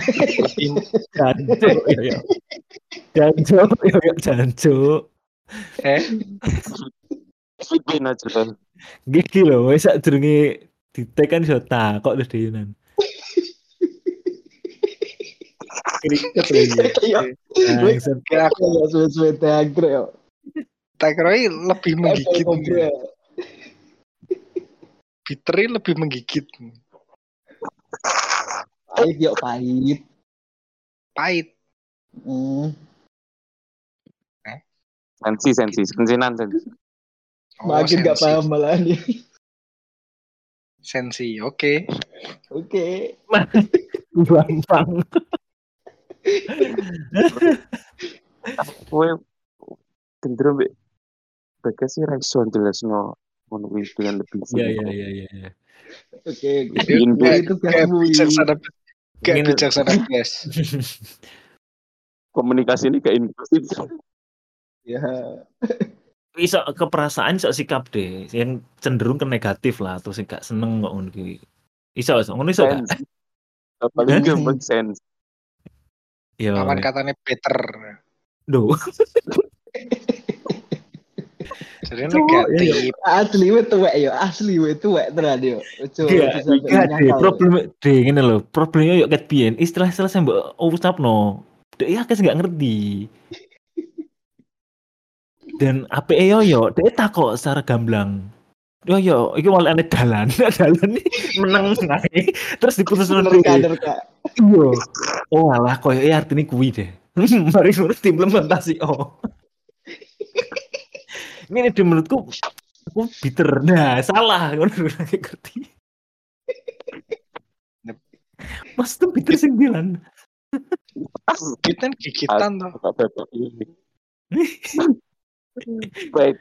Jancuk yo. Jancuk. Fitbin aja kan. Gigi lho, wis sak durunge ditek kan iso takok terus dhewenan. Kriket lagi. Bangsat aku ya suwe-suwe teagrek yo. Takroi lebih menggigit. Biteri lebih menggigit. Pahit yo pahit. Pahit. Sensinan. Makin gak paham malah nih. Sensi, oke. Gampang. Kowe cenderung mbek Bagas sih ra iso jelasno ngono kuwi dengan lebih Iya. Oke. Itu kayak bijaksana guys. Komunikasi ini kayak inklusif. Ya. Iso keperasaan iso sikap deh, yang cenderung ke negatif lah, terus gak seneng kok ngono kuwi. Iso ngono iso gak? Paling gampang sense. Yo. Lawan katanya better. Duh. Jadi negatif. Asli we tuwek tenan yo. Problem ngene lho, problemnya yo ket biyen istilah-istilah sing mbok ucapno. Dek ya kes gak ngerti. Dan APE yo dek takok secara gamblang. Yo iki wal ane dalan iki meneng ae. Terus diputusno kader Kak. Iya. Oh alah koyo artine kuwi deh. Mari ngurus implementasi Ini di menurutku aku bitter. Nah, salah ngono ngerti. Mas tuh bitter 9. Kita gigitan toh. Baik.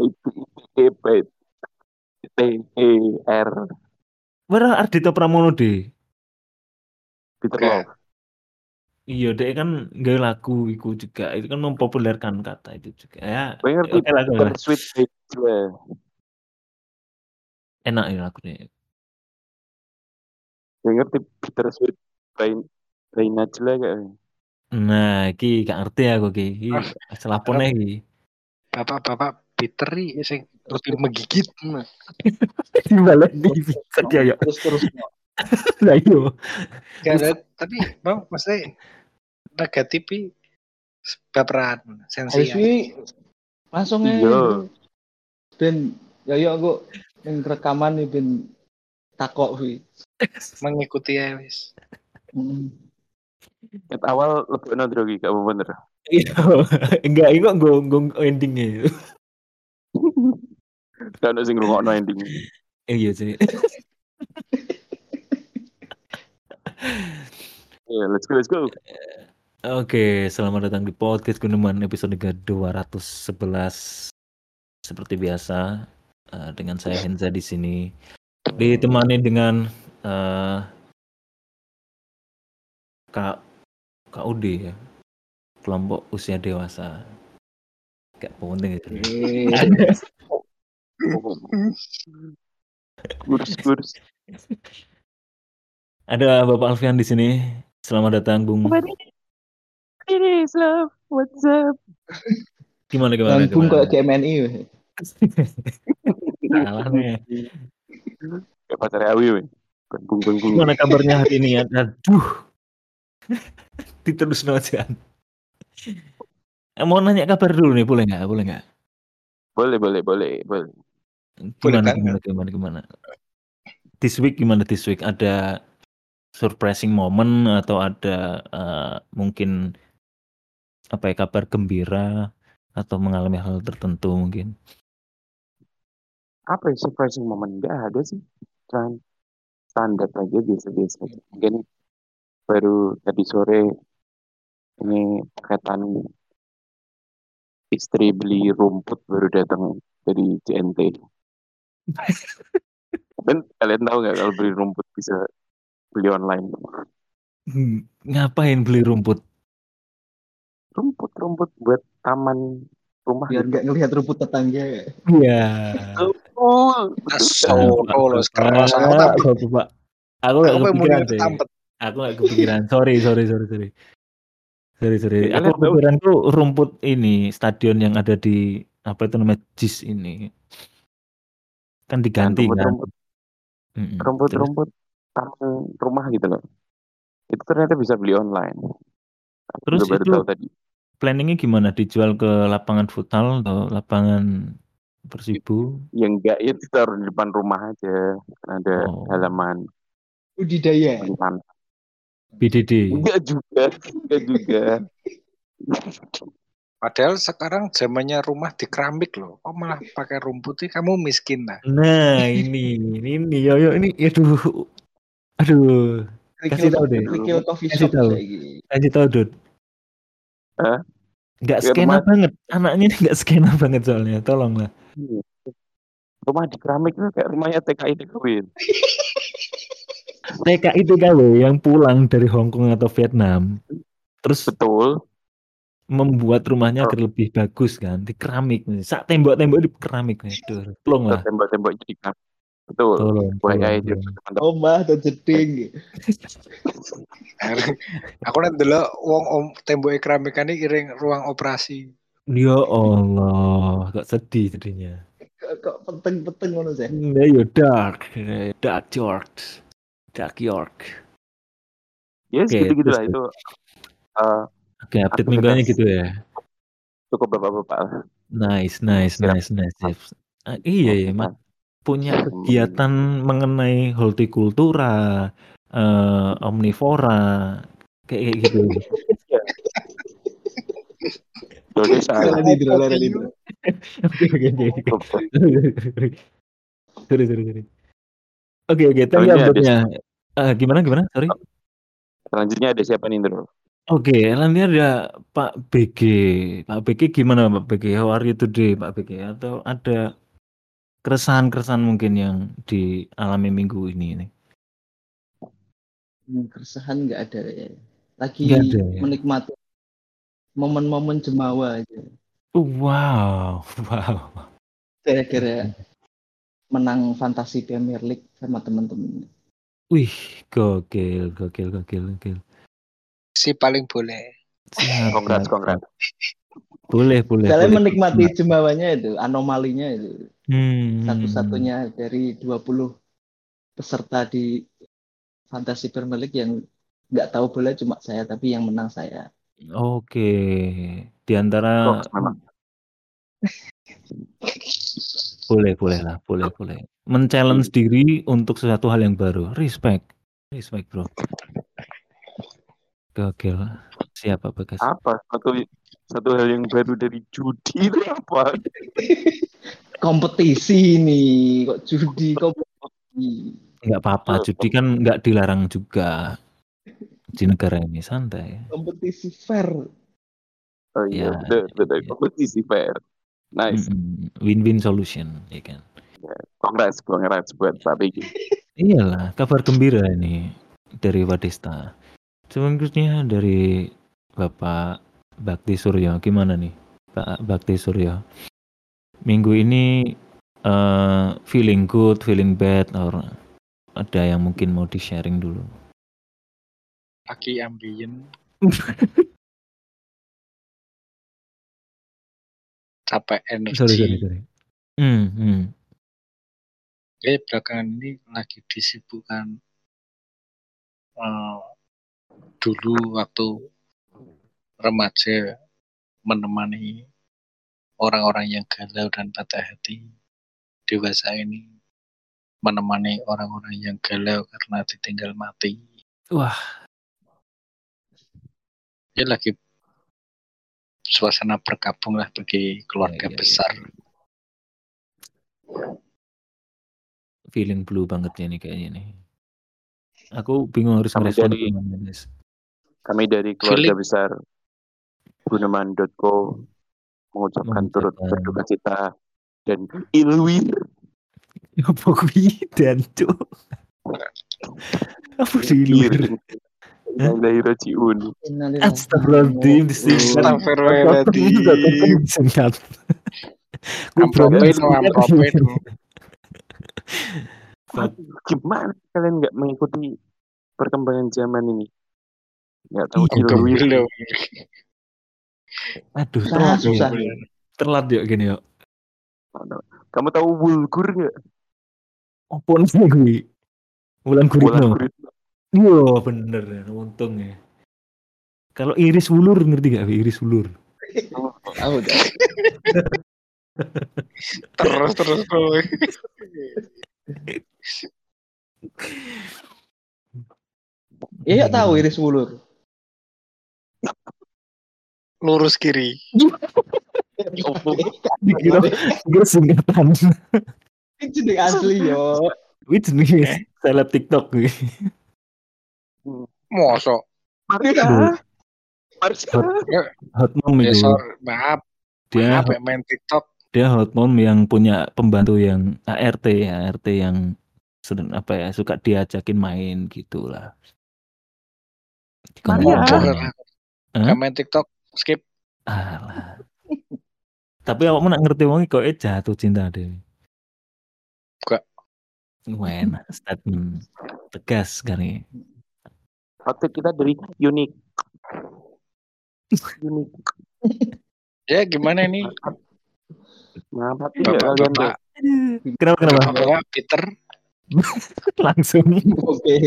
TER. Wara Ardhito Pramono deh. Bitter. Iya, dia kan gawe lagu iku juga. Itu kan mempopulerkan kata itu juga. Ya. Ngerti Sweet Babe. Enak ya lagunya. Ngerti Bittersweet by Najla kayak. Nah, iki gak ngerti aku iki. Selapone iki. Bapak biteri sing lebih menggigit. Dibalik di ya. Terus. Lah iya. Tapi Bang maksudnya negatif baperan sensi. Langsung aja. Ben yo aku ning rekaman iki ben takok kuwi. Mengikuti ya wis. Awal lebih drogi gak bener. Iya. Enggak, ini kok gong endingnya. Gak ada sing ngrungokno ending. Iya sih. Yeah, let's go. Oke, selamat datang di podcast Guneman episode ke-211. Seperti biasa, dengan saya Henza di sini. Ditemani dengan Kak Udi ya. Kelompok usia dewasa. Gak penting itu. Kurs. Ada Bapak Alfian di sini. Selamat datang, Bung. Ini love, what's up? Gimana? Bung kok GMNI. Salah nih. Kayak pacar Awi, weh. Bung. Gimana kabarnya hari ini? Aduh. Diterus aja. Mau nanya kabar dulu nih, boleh nggak? Boleh. Gimana? This week gimana? Ada surprising moment atau ada mungkin kabar gembira atau mengalami hal tertentu mungkin? Apa ya surprising moment? Nggak ada sih. Cuman standar aja biasa-biasa. Mungkin baru tadi sore ini kaitan istri beli rumput baru datang dari CNT. Dan kalian tahu nggak kalau beli rumput bisa beli online? Ngapain beli rumput? Rumput buat taman rumah. Biar nggak ngelihat rumput tetangga. Iya. Solo keras aku tapi Pak. Aku nggak kepikiran deh. Aku nggak kepikiran. Sorry. Ya, Aku kalian tahu kepikiran tuh rumput ini stadion yang ada di apa itu namanya JIS ini kan kan diganti kan. rumput-rumput Terus rumput-rumput taman rumah gitu loh. Itu ternyata bisa beli online. Aku terus juga baru itu tahu tadi. planningnya gimana? Dijual ke lapangan futsal atau lapangan Persibu? Yang enggak ya ditaruh di depan rumah aja. Kan ada Oh, halaman Budidaya. penyimpanan. BDD. Enggak juga. Padahal sekarang zamannya rumah di keramik loh. Kok malah pakai rumput sih? Kamu miskin lah. Nah, ini yo ini aduh. Kasih tahu deh. Kerikil coffee Kasih shop tahu. saiki. Kasih tahu, Dut. Hah? Nggak Ya, skena rumah banget. Anaknya ini nggak skena banget soalnya. Tolonglah. rumah di keramik itu kayak rumahnya TKI Queen. TKI TKW yang pulang dari Hong Kong atau Vietnam. Terus Betul. membuat rumahnya Oh, agar lebih bagus kan. Di keramik. Sak tembok-tembok di keramik. Aduh, tolonglah. tembok-tembok jadi keramik. Betul. Tolong. itu teman-teman. Omah dan jeding. Aku nanti dulu wong tembok keramik ini iring ruang operasi. Ya Allah, kok sedihnya. Kok peteng-peteng ngono sih. Nah, yo Dark York. Yes, Oke, gitu-gitulah terus. itu. Oke, update aktivitas mingguannya gitu ya. cukup bapak-bapak lah. Nice. Istirahat. Iya ya, punya kegiatan mengenai hortikultura, omnivora, kayak gitu. Jadi saya Hidro. Oke. Sorry. Oke, thank you ini ada update-nya. Gimana? Sorry. selanjutnya ada siapa nih, Bro? Oke, nanti ada Pak BG. Pak BG gimana Pak BG? How are you today Pak BG? Atau ada keresahan mungkin yang dialami minggu ini nih? Keresahan nggak ada ya. Lagi Nggak ada ya? menikmati momen-momen jemawa aja. Wow. Gara-gara menang Fantasi Premier League sama teman-teman. Wih, gokil. Si paling boleh. Siap. Congrats. Boleh. Kalian menikmati jemawanya itu, anomalinya itu. Hmm. Satu-satunya dari 20 peserta di Fantasi Premier League yang nggak tahu bola cuma saya, tapi yang menang saya. Oke. Di antara Memang. boleh lah. Men-challenge diri untuk sesuatu hal yang baru. Respect bro. Gokil. Siapa Bagas? Apa satu hal yang baru dari judi itu apa? Kompetisi nih, kok judi kompetisi. Nggak apa-apa, judi kan nggak dilarang juga di negara ini, santai. Kompetisi fair. Oh iya, Ya, betul. Kompetisi fair. Nice. Win-win solution, ya kan. Congrats buat Pak BG. Iyalah, kabar gembira ini dari Wadesta. Selanjutnya dari Bapak Bakti Suryo, gimana nih Pak Bakti Suryo? Minggu ini feeling good, feeling bad, or ada yang mungkin mau di-sharing dulu? Pagi ambien. Capek energi. Sorry. Belakangan ini lagi disibukkan dulu waktu remaja menemani orang-orang yang galau dan patah hati. Dewasa ini menemani orang-orang yang galau karena ditinggal mati. Wah. Ya lagi suasana berkabung lah bagi keluarga besar. Feeling blue banget ya nih kayaknya nih. Aku bingung harus merespon gimana, guys. Kami dari keluarga besar Guneman.co mengucapkan turut berduka cita dan ilwir. Apa kuwi dan cuk? Apa ilwir? Dari Rojiun. Astagfirullahaladzim. Astagfirullahaladzim. Gimana kalian nggak mengikuti perkembangan zaman ini. Nggak tahu Iya dong. Ilwi. Belum. Aduh, Susah, telat susah. ya. Telat yuk gini yuk. Kamu tahu Bulgur nggak? Apa nih gue? Wulan Wulan Guritno. Guritno. Iya bener ya, untung ya. Kalau Iris Wulur ngerti gak? Iris Wulur. Tahu dah. Terus tuh. Iya tahu Iris Wulur. Lurus kiri. Dikira singkatan. Itu jeneng asli yo. Wih jenis seleb TikTok gue. Mosok. Marsha. Hot mom itu. Maaf. Dia Maaf main TikTok. dia hot mom yang punya pembantu yang ART yang suka diajakin main gitulah. Maria. Gak main TikTok, skip. Alah. Tapi awakmu nak ngerti wong kok jatuh cinta deh. Enggak. Enak statement tegas kan ini. Outfit kita dari unik. Ya gimana nih? Maaf hati nggak kalian tuh? Kenapa? Bapak Peter. Langsung. Oke.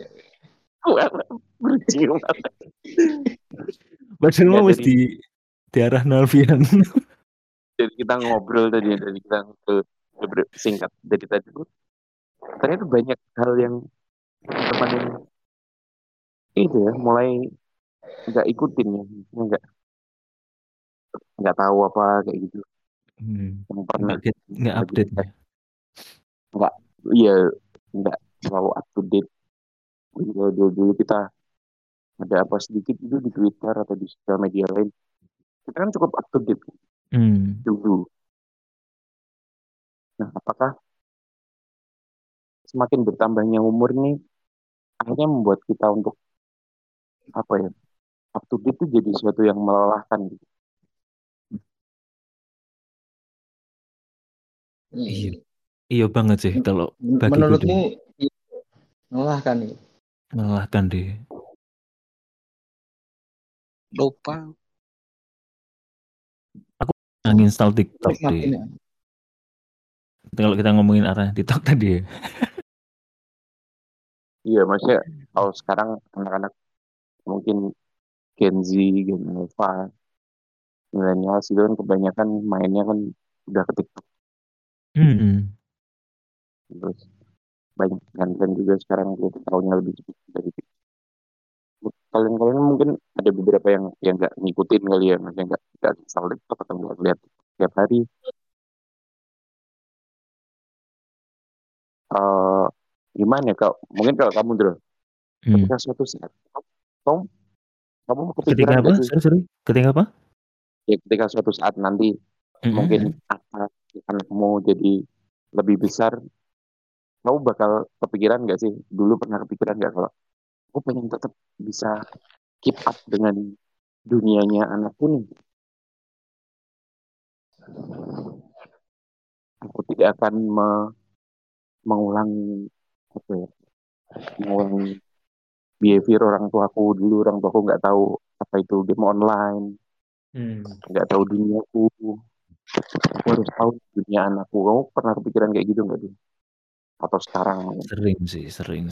Bercium. Padahal mau mesti di arah Nalvian. Jadi kita ngobrol tadi, dari kita singkat dari tadi tuh. Ternyata banyak hal yang teman yang itu ya mulai nggak ikutin ya, nggak tahu apa kayak gitu. Yang pernah nggak update ya. Nggak selalu up to date. Dulu kita ada apa sedikit itu di Twitter atau di sosial media lain, kita kan cukup up to date dulu. Nah, apakah semakin bertambahnya umur ini akhirnya membuat kita untuk up to date itu jadi sesuatu yang melelahkan gitu. Iya banget sih kalau menurutmu melelahkan ya? Melelahkan deh. Lupa. Aku nginstall TikTok deh. Kalau kita ngomongin arah TikTok tadi ya. Iya, maksudnya kalau sekarang anak-anak mungkin Gen Z, Gen Alpha, milenial itu kan kebanyakan mainnya kan udah ke TikTok. Terus banyak kan juga sekarang tahunya lebih cepat dari TikTok. Kalian mungkin ada beberapa yang nggak ngikutin kali ya, maksudnya nggak install TikTok atau nggak lihat tiap hari. Gimana kalau mungkin kalau kamu ketika suatu saat kamu mau kepikiran ketika apa? Sorry. Ketika apa? Ya ketika suatu saat nanti mungkin anakmu jadi lebih besar, kamu bakal kepikiran nggak sih? Dulu pernah kepikiran nggak kalau aku pengen tetap bisa keep up dengan dunianya anakku nih. Aku tidak akan mengulangi behavior orang tuaku dulu. Orang tuaku nggak tahu apa itu game online, nggak tahu duniaku. Aku harus tahu dunia anakku. Kamu pernah kepikiran kayak gitu nggak tuh? Atau sekarang? Sering.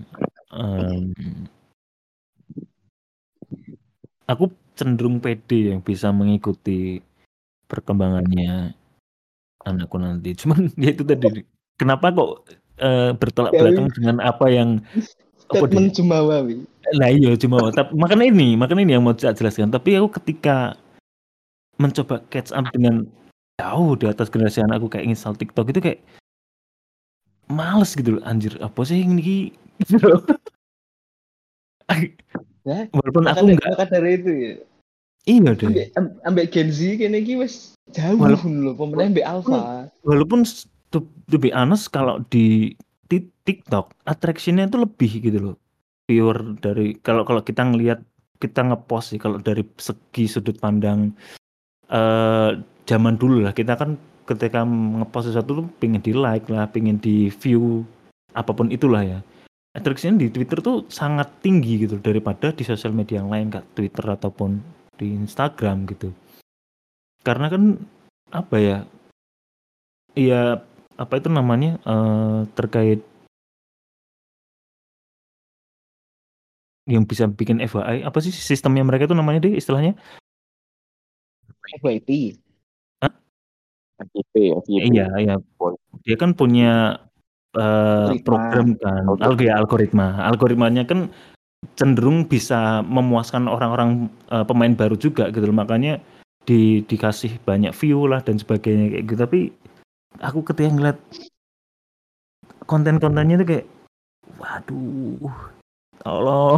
Aku cenderung pede yang bisa mengikuti perkembangannya anakku nanti. Cuman ya itu tadi. Kenapa kok bertolak belakang dengan apa yang statement Jumawa. Nah iya Jumawa. Makanya ini yang mau saya jelaskan. Tapi aku ketika mencoba catch up dengan jauh di atas generasi anakku kayak install TikTok itu kayak males gitu loh, anjir apa sih ini gitu loh. Walaupun aku enggak dari itu ya. Iya deh. Ambek Gen Z kene iki wis jauh lho pemenang ambek Alpha. Walaupun to be honest kalau di TikTok attraction-nya itu lebih gitu loh. Pure dari kalau kita ngelihat kita ngepost sih kalau dari segi sudut pandang zaman dulu lah, kita kan ketika ngepost sesuatu tuh pengen di like lah, pengen di view apapun itulah ya. attraction di Twitter tuh sangat tinggi gitu daripada di sosial media yang lain kayak Twitter ataupun di Instagram gitu. Karena kan apa ya? Iya, apa itu namanya? Terkait yang bisa bikin FYI, apa sih sistemnya mereka itu namanya deh istilahnya? FYP. FYP, FYP. Iya, iya. Dia kan punya program kan, algoritmanya kan cenderung bisa memuaskan orang-orang pemain baru juga gitu loh. Makanya dikasih banyak view lah dan sebagainya kayak gitu. Tapi aku ketika ngeliat konten-kontennya itu kayak waduh, tolong.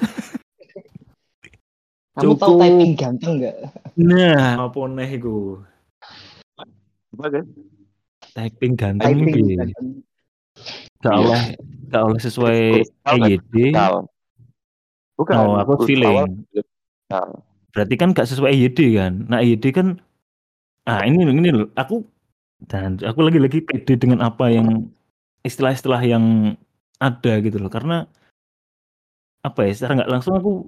Kamu tahu typing ganteng nggak? Nah, apa nih gue? Apa kan? Typing ganteng Typing piye? ganteng. Gak oleh sesuai EYD. Bukan. Oh, aku feeling. Berarti kan gak sesuai EYD kan. Nah, EYD kan ini loh, aku lagi pede dengan apa yang istilah-istilah yang ada gitu loh. Karena apa ya, secara nggak langsung aku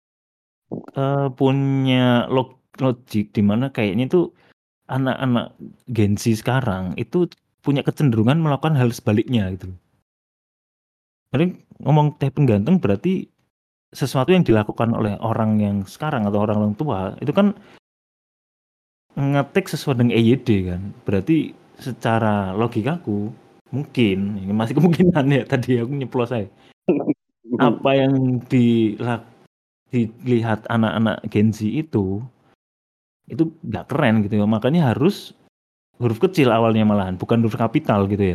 punya logik di mana kayaknya itu anak-anak Gen Z sekarang itu punya kecenderungan melakukan hal sebaliknya gitu. Jadi ngomong typing ganteng berarti sesuatu yang dilakukan oleh orang yang sekarang atau orang tua itu kan ngetik sesuai dengan EYD kan. Berarti secara logikaku mungkin ini masih kemungkinan ya tadi aku nyeplos saya. Apa yang dilihat anak-anak Gen Z itu nggak keren gitu ya. Makanya harus huruf kecil awalnya malahan, bukan huruf kapital gitu ya.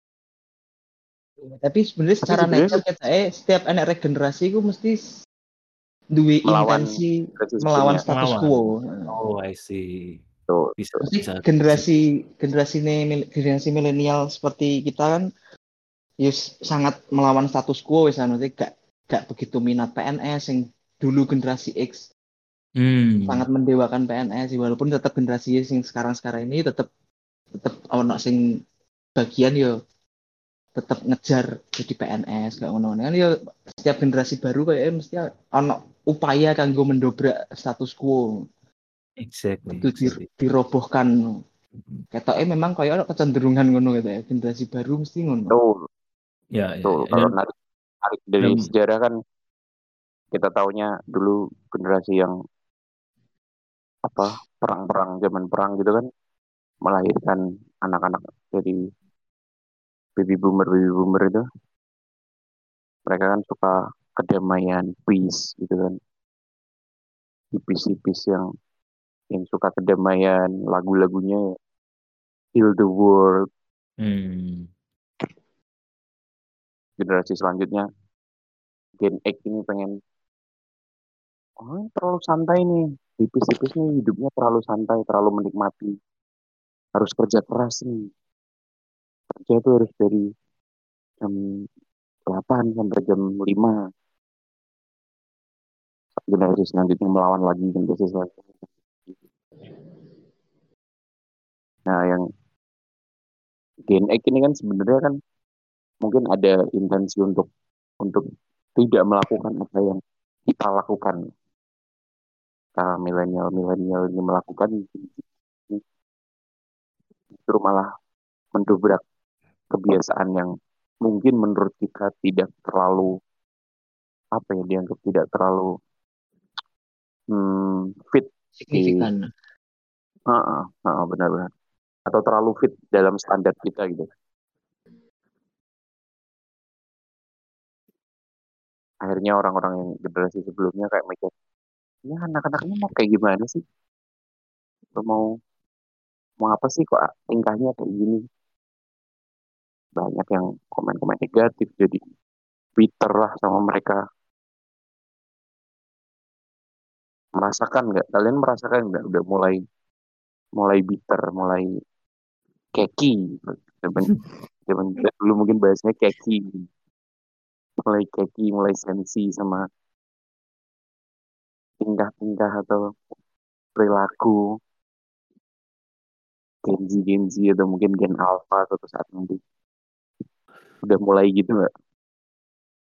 Tapi sebenarnya secara nature setiap anak regenerasi itu mesti duwe intensi melawan status quo. Oh, I see. Bisa. Generasi milenial seperti kita kan sangat melawan status quo, misalnya gak begitu minat PNS yang dulu generasi X sangat mendewakan PNS, walaupun tetap generasi yang sekarang ini tetap ono sing bagian yo tetap ngejar jadi PNS gak ngono kan yo setiap generasi baru kayak mesti ono upaya kanggo mendobrak status quo. Exactly. Dirobohkan. Ketoknya memang kayak kecenderungan ngono gitu ya, generasi baru mesti ngono. Ya. Kalau narik dari sejarah kan kita taunya dulu generasi yang perang zaman perang gitu kan melahirkan anak-anak jadi baby boomer itu mereka kan suka kedamaian, peace gitu kan, peace yang suka kedamaian, lagu-lagunya Heal the World. Generasi selanjutnya Gen X ini pengen terlalu santai nih, tipis-tipis nih hidupnya, terlalu santai, terlalu menikmati, harus kerja keras nih, kerja tuh harus dari jam 8 sampai jam 5. Generasi selanjutnya melawan lagi generasi selanjutnya. Nah, yang Gen X ini kan sebenarnya kan mungkin ada intensi untuk tidak melakukan apa yang kita lakukan. Milenial ini melakukan justru malah mendobrak kebiasaan yang mungkin menurut kita tidak terlalu dianggap tidak terlalu fit, signifikan. Benar-benar, atau terlalu fit dalam standar kita gitu. Akhirnya orang-orang yang generasi sebelumnya kayak mikir, ini anak-anaknya mau kayak gimana sih? Mau apa sih kok tingkahnya kayak gini? Banyak yang komen-komen negatif, jadi bitter lah sama mereka. Kalian merasakan nggak udah mulai bitter, mulai keki? Zaman dulu mungkin bahasanya keki, mulai sensi sama tingkah-tingkah atau perilaku Gen Z atau mungkin Gen Alpha suatu saat nanti udah mulai gitu nggak?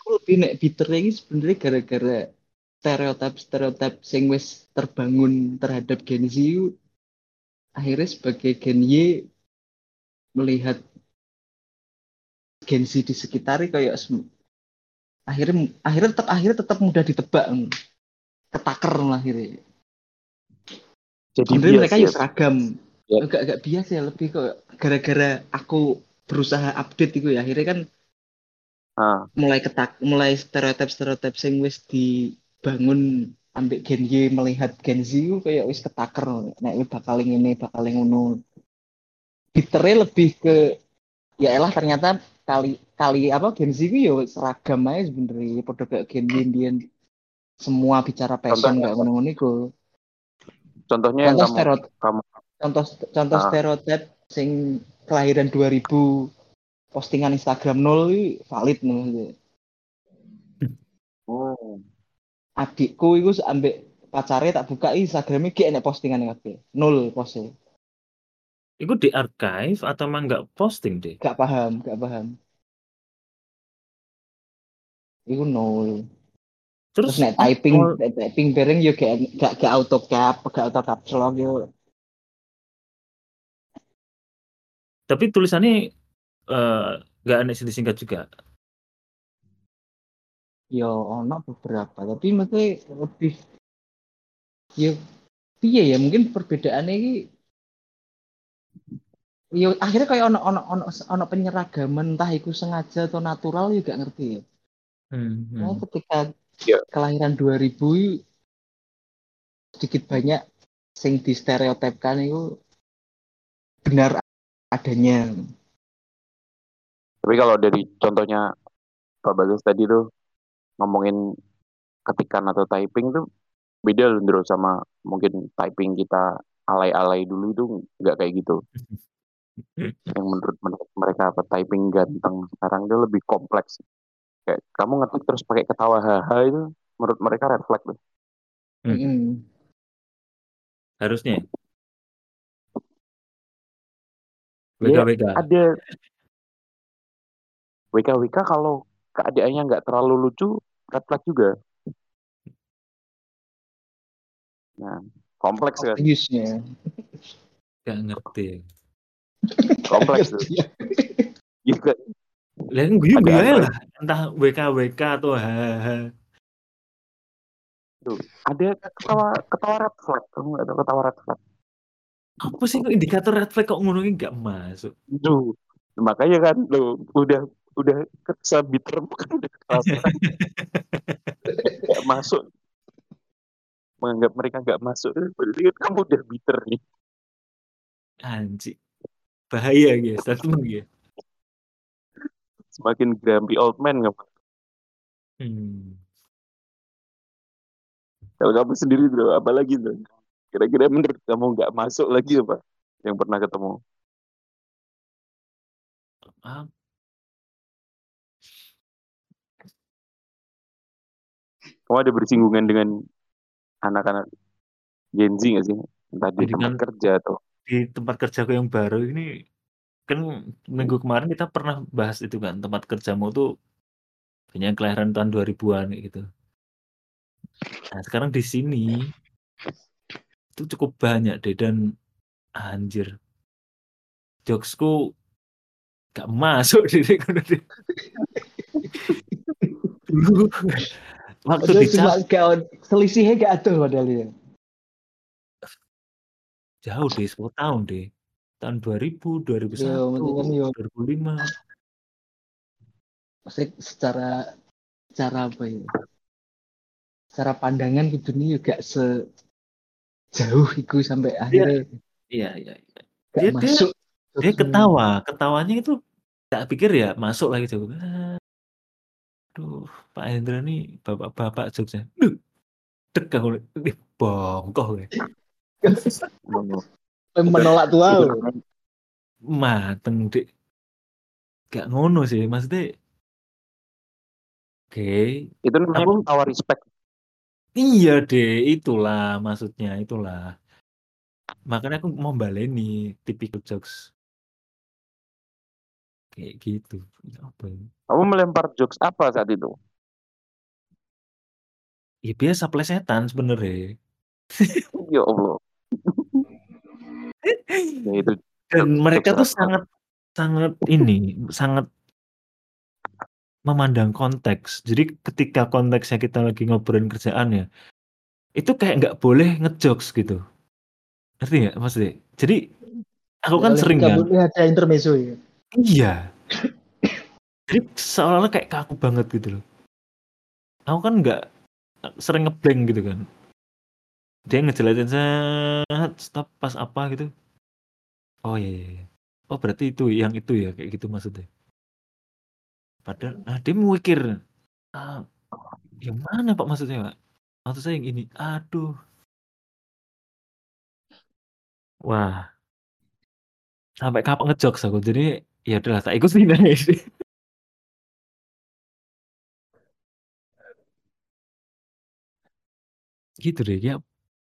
aku lebih nek bitter ini sebenarnya gara-gara stereotip sing wis terbangun terhadap Gen Z akhirnya sebagai Gen Y melihat Gen Z di sekitarnya kayak akhirnya tetap mudah ditebak, ketaker lah akhirnya. Jadi Sebenarnya mereka ya bias seragam, ya. agak biasa ya, lebih kok gara-gara aku berusaha update itu ya akhirnya kan mulai stereotip sing wis dibangun ambek Gen Y melihat Gen Z itu kayak wis ketaker, nek bakal ngono. Bitternya lebih ke ya elah ternyata kali apa Gen Z itu ya seragam aja sebenarnya pada kayak Gen Y Indian semua bicara passion kayak ngono-ngono iku. Contohnya yang kamu Contoh stereotip sing kelahiran 2000 postingan Instagram 0 itu valid nih. Adikku itu ambek pacarnya tak buka Instagramnya kayak enek postingan kabeh. 0 postnya. Itu di archive atau emang nggak posting deh? Gak paham. Itu 0. Terus nek typing bareng yo gak auto caps lock yo. Tapi tulisannya nggak aneh disingkat juga. Yo ono beberapa, tapi maksudnya lebih yo piye ya mungkin perbedaannya ini yo akhirnya kayak ono penyeragaman entah itu sengaja atau natural juga ngerti ya. Nah, ketika kelahiran 2000 sedikit banyak sing distereotipkan itu benar adanya. Tapi kalau dari contohnya Pak Bagus tadi tuh ngomongin ketikan atau typing tuh beda loh sama mungkin typing kita alay-alay dulu itu nggak kayak gitu. Yang menurut mereka apa typing ganteng sekarang itu lebih kompleks. Kayak kamu ngetik terus pakai ketawa haha itu menurut mereka red flag tuh. Harusnya. WKWK. Ya, ada WKWK kalau keadaannya nggak terlalu lucu, red flag juga. Nah, kompleks kan? Use-nya. Gak ngerti. Kompleks tuh. Juga. Lain gue lah, entah WKWK atau hahaha. Tuh, ada ketawa red flag, kamu nggak tahu ketawa red flag? Apa sih kok indikator red flag kok ngomongin nggak masuk? Duh, makanya kan lo udah kesabiter kan udah kerasa nggak masuk, menganggap mereka nggak masuk, berarti kan kamu udah bitter nih. Anjir, bahaya guys, statement ya. Semakin grumpy old man kamu. Kalau kamu sendiri bro, apa lagi tuh? Kira-kira menurut kamu nggak masuk lagi apa? Yang pernah ketemu? Kamu ada bersinggungan dengan anak-anak Gen Z nggak sih? Entah di tempat kerja atau di tempat kerjaku yang baru ini kan minggu kemarin kita pernah bahas itu kan, tempat kerjamu tuh banyak kelahiran tahun 2000-an gitu. Nah sekarang di sini itu cukup banyak deh dan anjir jokesku gak masuk deh dulu waktu cuma selisihnya gak ada padahal ya. Jauh deh, 10 tahun deh. Tahun 2000, 2001, 2005. Maksudnya secara apa ya? Secara pandangan ke dunia juga sejauh itu sampai akhirnya. Iya. Gak masuk. Dia ketawanya itu tak pikir ya masuk lagi coba. Aduh, Pak Hendra nih bapak-bapak Jogja. Dek aku bongkoh ya. Menolak tua. Mateng dek. Gak ngono sih, maksudnya. Oke. Itu namanya ketawa respect. Iya deh, itulah maksudnya, itulah. Makanya aku mau baleni typical jokes. Kayak gitu. Apa ini? Kamu melempar jokes apa saat itu? Ya biasa plesetan sebenarnya. Ya Allah. Ya itu Dan mereka tuh jokes sangat memandang konteks. Jadi ketika konteksnya kita lagi ngobrolin kerjaan ya, itu kayak nggak boleh ngejokes gitu. Ngerti nggak maksudnya? Jadi aku kan sering nggak kan. boleh ada intermezzo ya. Iya. Jadi seolah-olah kayak kaku banget gitu loh. Aku kan nggak sering ngeblank gitu kan. Dia ngejelasin stop pas apa gitu. Oh iya. Oh berarti itu yang itu ya kayak gitu maksudnya. Padahal dia mikir yang mana Pak maksudnya Pak? Maksud saya yang ini. Aduh. Wah. Sampai kapan ngejokes aku. Jadi ya udahlah tak ikutin aja. Gitu deh ya.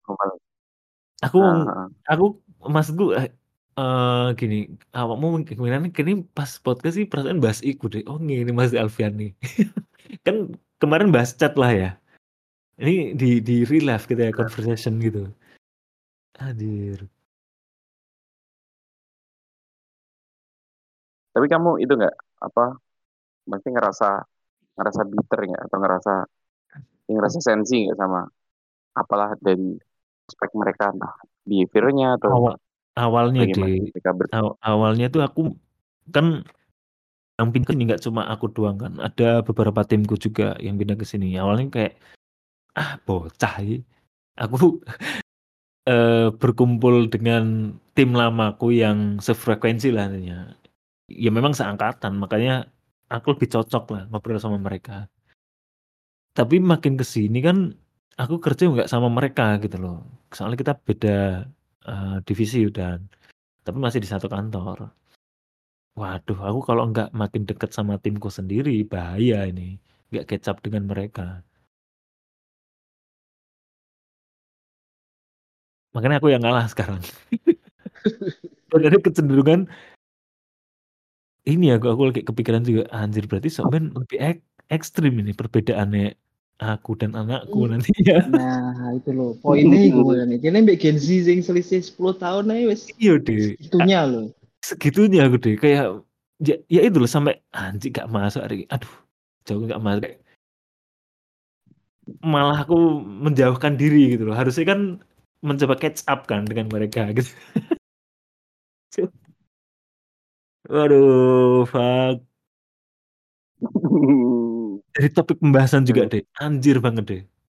Aku maksudku gini, awakmu gimana gini pas podcast sih perasaan bahas iku deh. Oh ini Mas Alfian nih. Kan kemarin bahas chat lah ya. Ini di real life gitu ya, conversation gitu. Hadir. Tapi kamu itu nggak masih ngerasa bitter nggak atau ngerasa sensi nggak sama apalah dari aspek mereka entah behaviornya atau Awalnya bagaimana mereka awalnya tuh aku kan yang pindah ini nggak cuma aku doang kan, ada beberapa timku juga yang pindah ke sini. Awalnya kayak bocah ini. Aku berkumpul dengan tim lamaku yang sefrekuensi lah intinya. Ya memang seangkatan, makanya aku lebih cocok lah ngobrol sama mereka. Tapi makin ke sini kan aku kerja nggak sama mereka gitu loh. Soalnya kita beda divisi udah, tapi masih di satu kantor. Waduh, aku kalau nggak makin deket sama timku sendiri bahaya ini, nggak kecap dengan mereka. Makanya aku yang ngalah sekarang. Dan ada kecenderungan ini aku lagi kepikiran juga anjir berarti Sokben lebih ekstrim ini perbedaannya aku dan anakku nantinya. Nah, itu loh. Poinnya iku kan. Kene mbek Gen Z sing selisih 10 tahun aja wis Iya deh. segitunya loh. Segitunya aku deh kayak ya itu loh sampai anjir gak masuk hari. Aduh, jauh gak masuk. Malah aku menjauhkan diri gitu loh. Harusnya kan mencoba catch up kan dengan mereka gitu. Waduh, fuck. Dari topik pembahasan juga deh, anjir banget deh.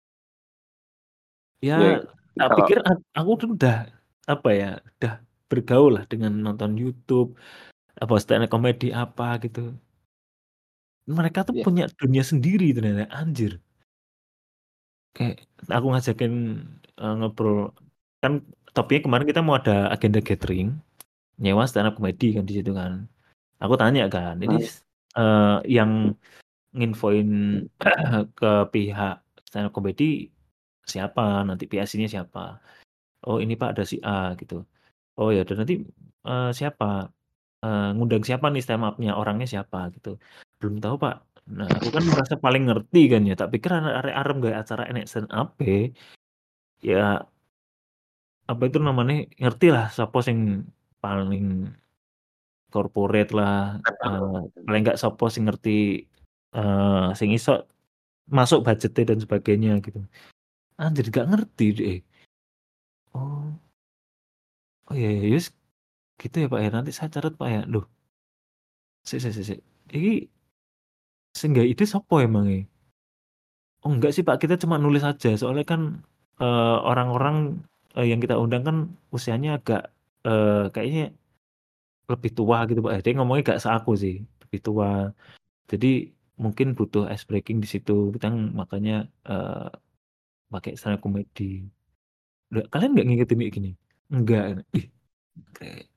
Ya, tak pikir aku tuh udah udah bergaul lah dengan nonton YouTube, apa stand up comedy apa gitu. Mereka tuh punya dunia sendiri ternyata, anjir. Kayak aku ngajakin ngobrol, kan topiknya kemarin kita mau ada agenda gathering, nyewa stand up comedy kan di situ kan. Aku tanya kan, ini yang nginfoin ke pihak stand up comedy siapa, nanti PSC-nya siapa. Oh ini Pak ada si A gitu. Oh ya udah nanti siapa ngundang siapa nih stand up-nya, orangnya siapa gitu. Belum tahu Pak. Nah aku kan merasa paling ngerti kan ya, tak pikir arek-arep gawe acara enek stand up ya apa itu namanya ngerti lah sapa sing paling corporate lah, paling enggak sapa sing ngerti sing iso masuk budgetnya dan sebagainya gitu. Anjir gak ngerti deh. Oh. Oh iya ya yes. Gitu ya Pak ya, nanti saya catat Pak ya. Loh. Sik. Iki sing gawe ide sapa emangnya? Oh enggak sih Pak, kita cuma nulis aja. Soalnya kan orang-orang yang kita undang kan usianya agak kayaknya lebih tua gitu Pak. Dia ngomongnya gak seaku sih, lebih tua. Jadi mungkin butuh ice breaking di situ. Kita makanya pakai stand up comedy. Loh, kalian nggak ngikutin kayak gini? Enggak. Ih, kayak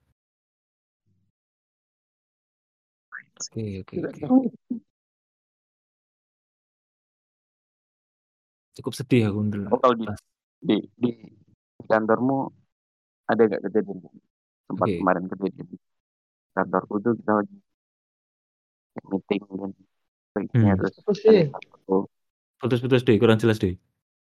Oke. Cukup sedih aku dulu. kalau di kantormu ada nggak kejadian tempat kemarin kejadian di kantorku tuh kita lagi meeting dan sebagainya terus putus deh kurang jelas deh.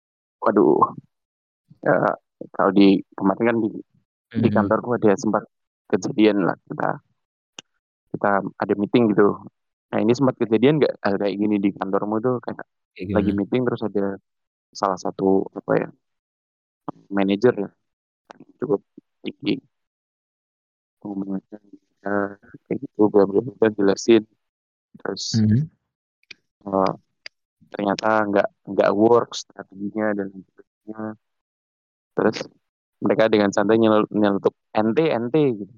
waduh, ya, kalau di kemarin kan di kantorku ada sempat kejadian lah, kita ada meeting gitu. Nah ini sempat kejadian nggak hal kayak gini di kantormu tuh, kayak lagi gimana? meeting terus ada salah satu apa ya, manajer ya, cukup tinggi, ngomongnya kayak gitu, bla bla bla, jelasin terus eh, ternyata nggak work strateginya dan lain sebagainya. Terus mereka dengan santai nyelutup ente ente gitu.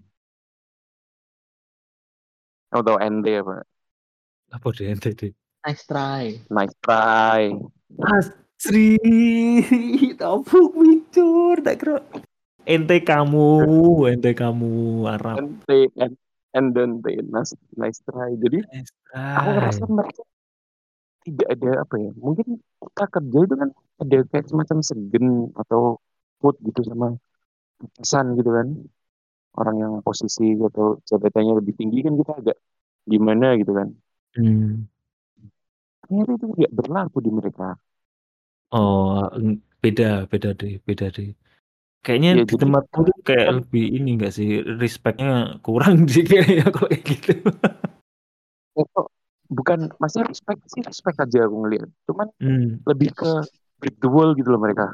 Kamu tahu ente apa? Apa deh ente deh? Nice try. Nice try. Asri, tabuk micur, tak kira. Ente kamu Arab. Ente and ente nice try. Jadi aku ngerasa mereka tidak ada apa ya, mungkin kita kerja itu kan ada kayak semacam segen atau food gitu sama pesan gitu kan, orang yang posisi atau jabatannya lebih tinggi kan kita agak gimana gitu kan, ternyata itu tidak berlaku di mereka. Oh, beda deh. Kayaknya Ya di jadi tempatku tuh kayak kan lebih ini enggak sih, respect-nya kurang sih kayaknya kalau kayak gitu. kok bukan masih respect sih, respect aja aku ngeliat, cuman lebih ke break the wall gitu loh mereka.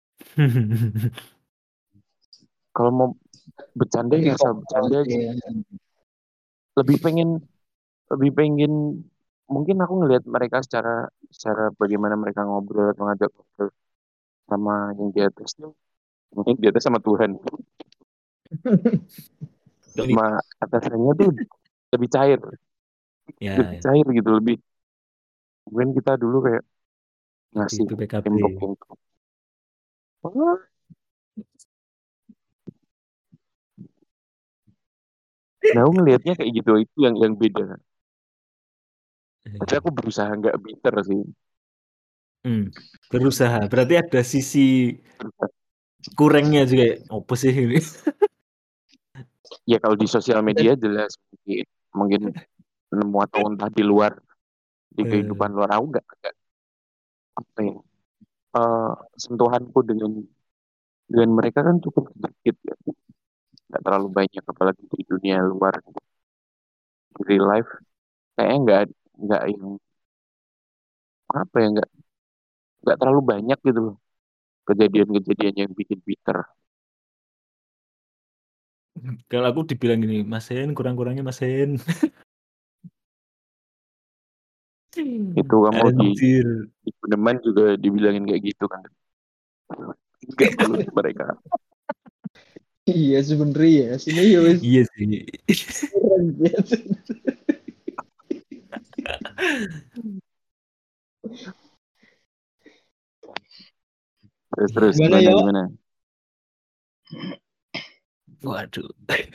Kalau mau bercanda ya asal bercanda aja. lebih pengen lebih pengen mungkin aku ngelihat mereka secara secara bagaimana mereka ngobrol atau ngajak ngobrol sama yang di atas tuh, mungkin di atas sama Tuhan, Ini sama atasannya tuh lebih cair, lebih ya cair gitu, lebih mungkin kita dulu kayak lebih ngasih PPKB. tembok yang "Wah." Nah aku ngelihatnya kayak gitu, itu yang beda. Tapi aku berusaha nggak bitter sih. Berusaha. Berarti ada sisi kurangnya juga. Apa sih ini? Ya kalau di sosial media jelas mungkin nemu atau entah di luar, di kehidupan luar, aku nggak apa ya, sentuhanku dengan mereka kan cukup sedikit ya, nggak terlalu banyak, apalagi di dunia luar, di real life kayaknya nggak yang apa ya, nggak terlalu banyak gitu loh kejadian-kejadian yang bikin bitter. Kalau aku dibilang gini, Mas Hen, kurang-kurangnya Mas Hen. Itu kamu Anjir. di Pedeman juga dibilangin kayak gitu kan, nggak perlu mereka. Iya sebenernya ya, sini ya wis. Iya sih. Keren gitu. Terus Gimana ya? gimana? Waduh.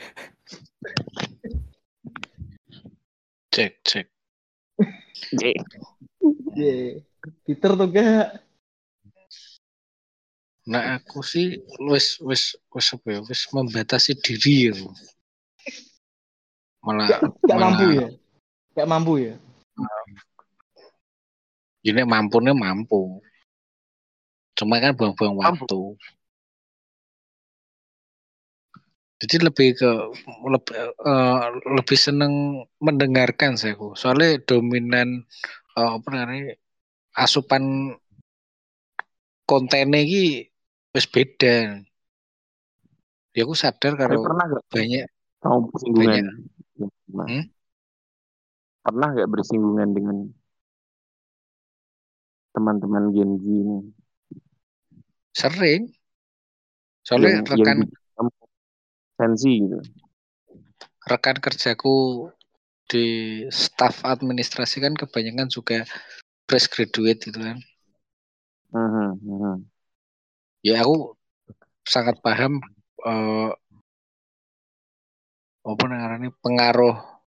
Cek. Peter tuh gak? Nah aku sih wis membatasi diri ya. Gak mampu ya? Gak mampu ya? Ini mampu. Cuma kan buang-buang waktu. Jadi lebih seneng mendengarkan saya. Soalnya dominan asupan kontennya ini wis beda. Ya aku sadar kalau pernah gak banyak bersinggungan pernah nggak bersinggungan dengan teman-teman Gen Z ini? Sering. Soalnya sensi gitu. Rekan kerjaku di staf administrasi kan kebanyakan juga fresh graduate gitu kan. Ya aku sangat paham pengaruh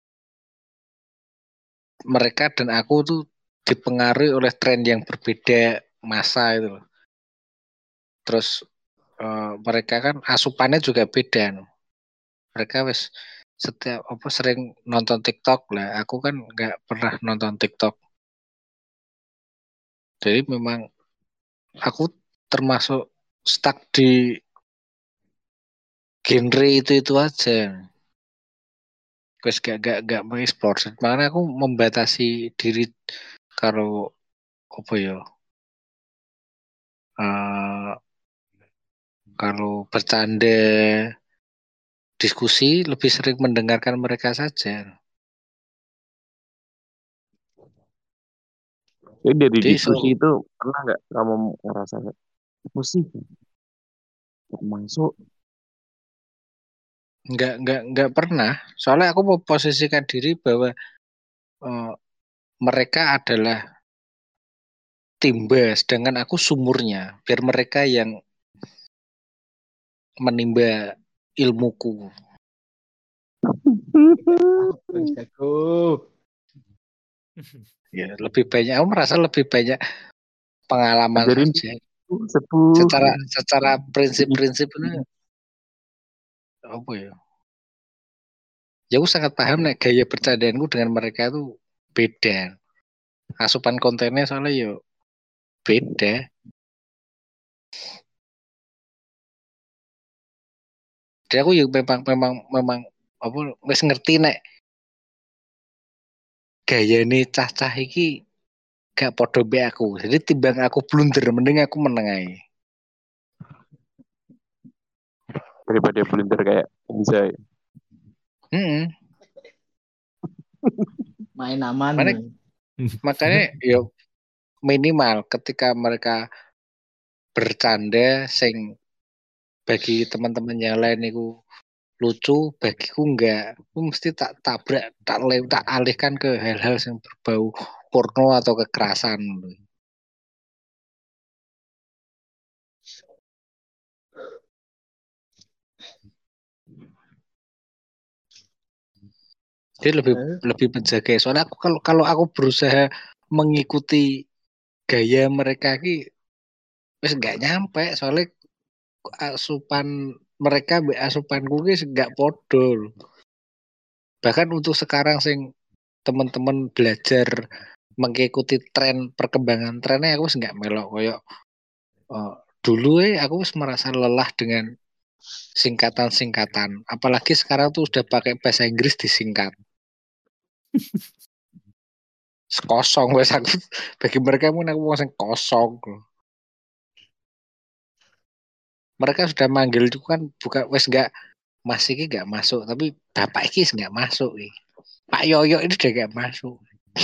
mereka dan aku tuh dipengaruhi oleh tren yang berbeda masa itu loh. Terus mereka kan asupannya juga beda. Mereka sering nonton TikTok lah. Aku kan nggak pernah nonton TikTok. Jadi memang aku termasuk stuck di genre itu aja. Wes gak mengeksplor. Makanya aku membatasi diri kalau apa ya? Kalau bercanda diskusi lebih sering mendengarkan mereka saja. Jadi dari diskusi itu pernah nggak kamu ngerasa diskusi masuk? Nggak pernah. Soalnya aku mau posisikan diri bahwa mereka adalah timba, sedangkan aku sumurnya. Biar mereka yang menimba ilmuku. Ya, lebih banyak. Aku merasa lebih banyak pengalaman Ajarin saja. sepuh. Secara prinsip-prinsip ini apa ya? Ya aku sangat paham nih gaya bercandaanku dengan mereka itu beda. Asupan kontennya soalnya yo beda. Jadi aku yo memang apa wis ngerti nek gaya ini cah-cah iki gak podo be aku. Jadi timbang aku blunder mending aku meneng ae. Daripada blunder kayak Enza. Main aman. Makanya yo minimal ketika mereka bercanda sing bagi teman-teman yang lain itu lucu, bagiku enggak. Aku mesti tak tabrak, tak alihkan ke hal-hal yang berbau porno atau kekerasan. Jadi lebih menjaga. Soalnya aku kalau aku berusaha mengikuti gaya mereka ki wis enggak nyampe. Soalnya asupan mereka asupanku ki enggak podo. Bahkan untuk sekarang sing teman-teman belajar mengikuti tren perkembangan trennya aku nggak melok koyok dulu aku merasa lelah dengan singkatan-singkatan, apalagi sekarang tuh udah pakai bahasa Inggris disingkat kosong wes aku bagi mereka pun aku masih kosong. Mereka sudah manggil itu kan bukan wes nggak masih ini nggak masuk tapi bapak ini nggak masuk Pak Yoyo ini udah nggak masuk.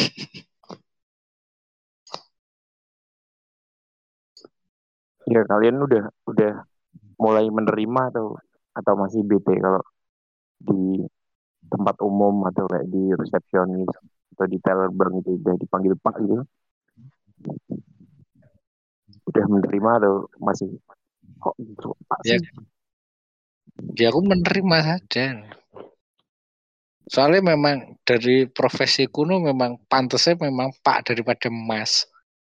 Ya kalian udah mulai menerima atau masih bete kalau di tempat umum atau kayak di resepsionis atau di teller bank itu udah dipanggil Pak gitu? Udah menerima atau masih kok gitu Pak sih? Ya aku menerima saja. Soalnya memang dari profesi kuno memang pantasnya memang Pak daripada Mas.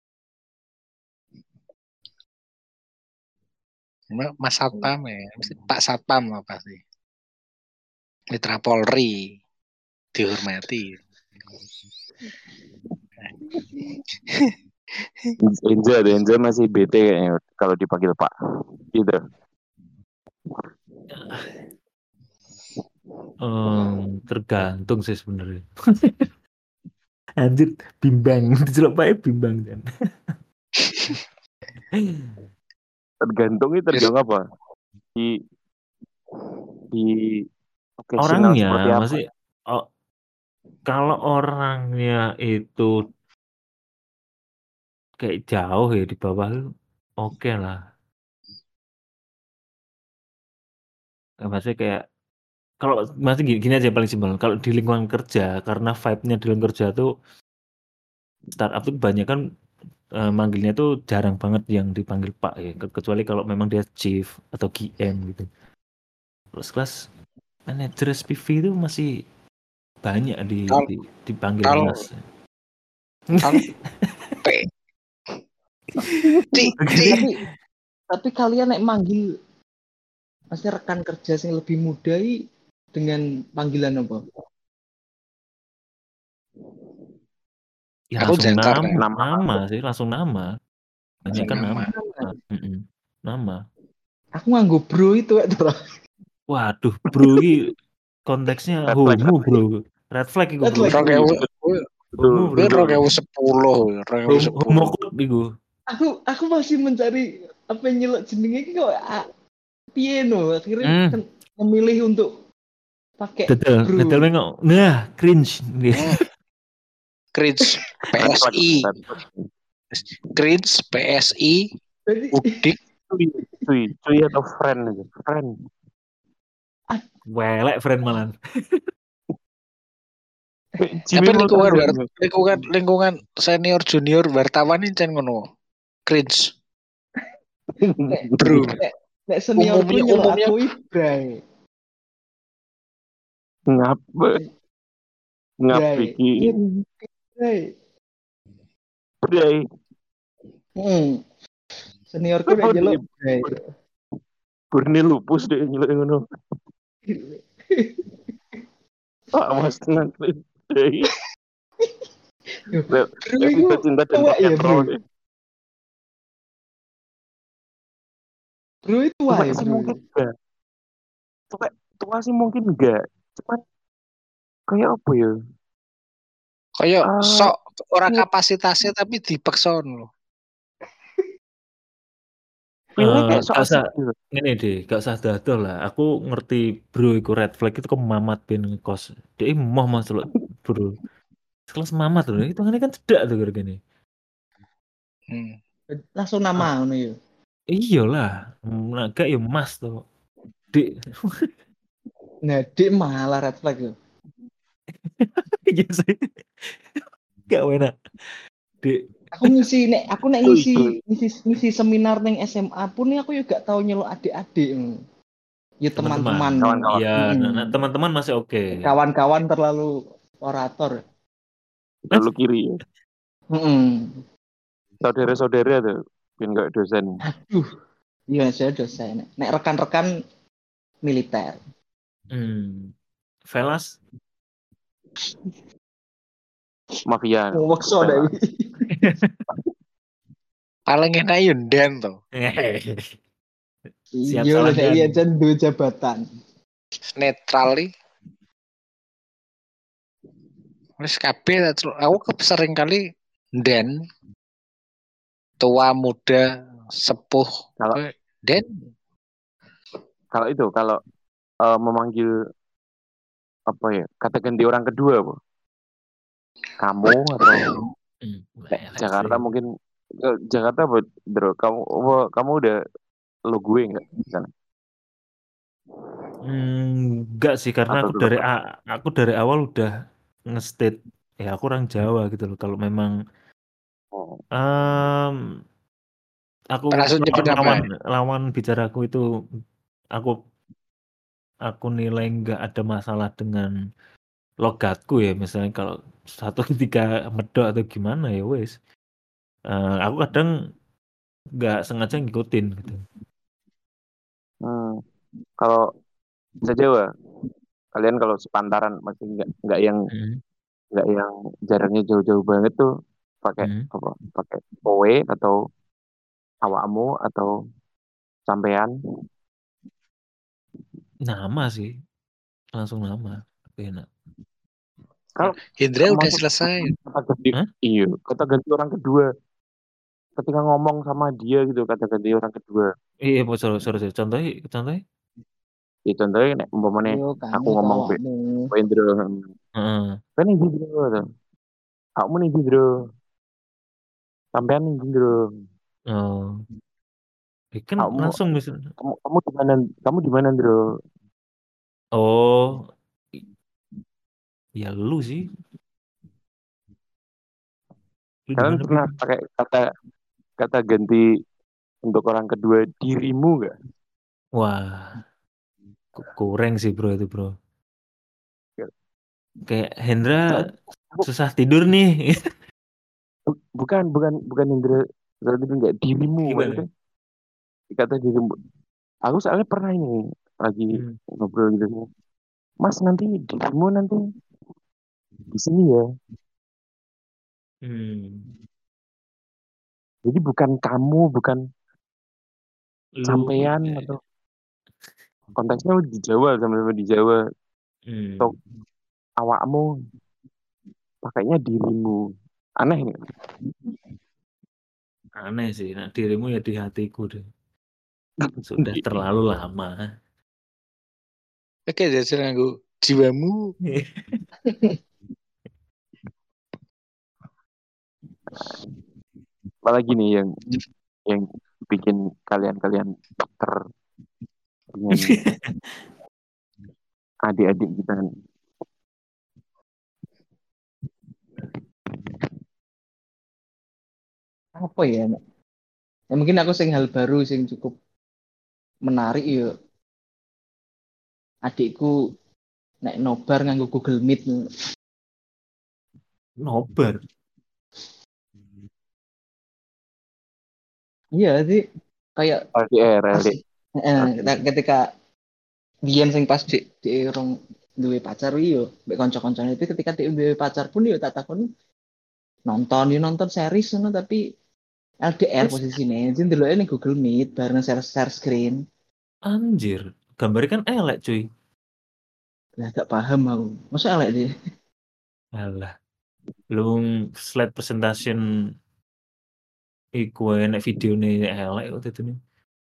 Mas Satpam ya, Pak Satpam apa sih? Mitra Polri dihormati. Enza masih bete kayaknya kalau dipanggil Pak gitu. Tergantung sih sebenarnya. Anjir bimbang dicelok Pak bimbang kan. Tergantung apa? Di orangnya seperti apa? masih kalau orangnya itu kayak jauh ya di bawah oke lah. Maksudnya kayak kalau masih gini aja paling simpel. Kalau di lingkungan kerja karena vibe-nya di lingkungan kerja tuh startup tuh kebanyakan manggilnya tuh jarang banget yang dipanggil Pak ya. Kecuali kalau memang dia chief atau GM gitu. Terus kelas manajer SPV itu masih banyak dipanggil Mas. Tapi kalian nek manggil pasti rekan kerja yang lebih muda dengan panggilan apa? Ya langsung nama sih, langsung nama. Banyak kan nama. Nama. Aku nganggo bro itu bro. Waduh, bro ini konteksnya Red flag, homo, bro. Red flag itu, Red bro. flag. Homo, bro. Homo code itu. Aku masih mencari apa yang nyelok jenenge iki kok piye no akhirnya kan memilih untuk pakai bro. Detail nengok. Nah, cringe. Cringe PSI. Cringe PSI. Udik. Cuy atau friend aja. Friend. Welek friend malan. Tapi lingkungan senior junior wartawan ini kan ngono. Cringe. Bro. Nek seniorku nyelok aku ibrai. Bikin. Bray. Seniorku nek nyelok ibrai. Burni lupus deh nyelok ngono. Pak Mas tenang Bray. Cinta dan rock and roll. Bro itu wah sih mungkin enggak. Tua sih mungkin enggak. Cuman kayak apa ya? Kayak sok orang kapasitasnya tapi dipaksa loh. Gak usah ini deh, gak usah dadol lah. Aku ngerti bro iku red flag itu kemamat ben ngekos. Dia mau masuk bro. Sekelas mamat loh, itu kan cedak tuh gini. Langsung nama ngono ya. Iyalah, naga ya mas tuh. Dik. Nah, dik malah red flag tuh. Iya sih. Gak enak. Dik. Aku ngisi seminar neng SMA pun nih aku juga tahu nyelok adik-adik. Ya teman-teman. Iya, nah, teman-teman masih oke. Kawan-kawan terlalu orator. Terlalu kiri ya. Saudara-saudara tuh, enggak dosen. Aduh. Iya, saya dosen. Nek rekan-rekan militer. Velas mafia. Paling enak Yunden tuh. Siap iya, salah iya jan dua jabatan. Netral. Wis kabeh aku sering kali den tua muda sepuh kalau memanggil apa ya kata ganti orang kedua apa kamu atau Jakarta mungkin Jakarta bro kamu udah lo gue nggak di sana? Enggak sih karena aku dari awal udah nge-state ya aku orang Jawa gitu loh. Kalau memang aku lawan bicaraku itu aku nilai nggak ada masalah dengan logatku ya, misalnya kalau 1-3 medok atau gimana ya wes. Aku kadang nggak sengaja ngikutin gitu. Kalau bisa Jawa kalian kalau sepantaran masih nggak yang jaraknya jauh-jauh banget tuh pakai apa? Pakai kowe atau awakmu atau sampean? Nama sih, langsung nama, enak. Kalau Hendra udah selesai. Iya, kata ganti orang kedua. Ketika ngomong sama dia gitu kata ganti orang kedua. Iya, sorry. Contohnya? Ya contohnya nek umpamane aku ngomong Wendro. Kan iki Bro. Kamu nih Bro. Sampean nih Bro. Oh. Kan langsung bisa. Kamu di mana, Bro? Oh. Ya lu sih. Kalian pernah pakai kata ganti untuk orang kedua dirimu nggak? Wah. Kurang sih bro itu bro. Kayak Hendra susah tidur nih. Bukan Hendra susah tidur nggak dirimu. Maksudnya kata dirimu. Aku soalnya pernah ini lagi ngobrol gitu. Mas nanti dirimu nanti di sini ya. Jadi bukan kamu, bukan sampean atau konteksnya di Jawa, sama-sama di Jawa. Atau awakmu, pakainya dirimu. Aneh nggak? Aneh sih, nah dirimu ya di hatiku deh. Sudah terlalu lama. Oke, jajal nganggo jiwamu. Apalagi nih yang bikin kalian dokter dengan adik-adik kita. Apa ya? Ya mungkin aku sing hal baru sing cukup menarik ya. Adikku nek nobar nganggo Google Meet. Nobar. Iya sih kayak LDR. ketika biyen sing pas di rong duwe pacar yo mbek kanca-kancane itu ketika dia duwe pacar pun yo tak takon nonton series ngono tapi LDR posisinya jadi ndeloke ning Google Meet bareng share screen. Anjir, gambarnya kan elek cuy. Lah gak paham aku. Masa elek dia? Alah. Lu slide presentation iku enek videone elek waktu itu nih.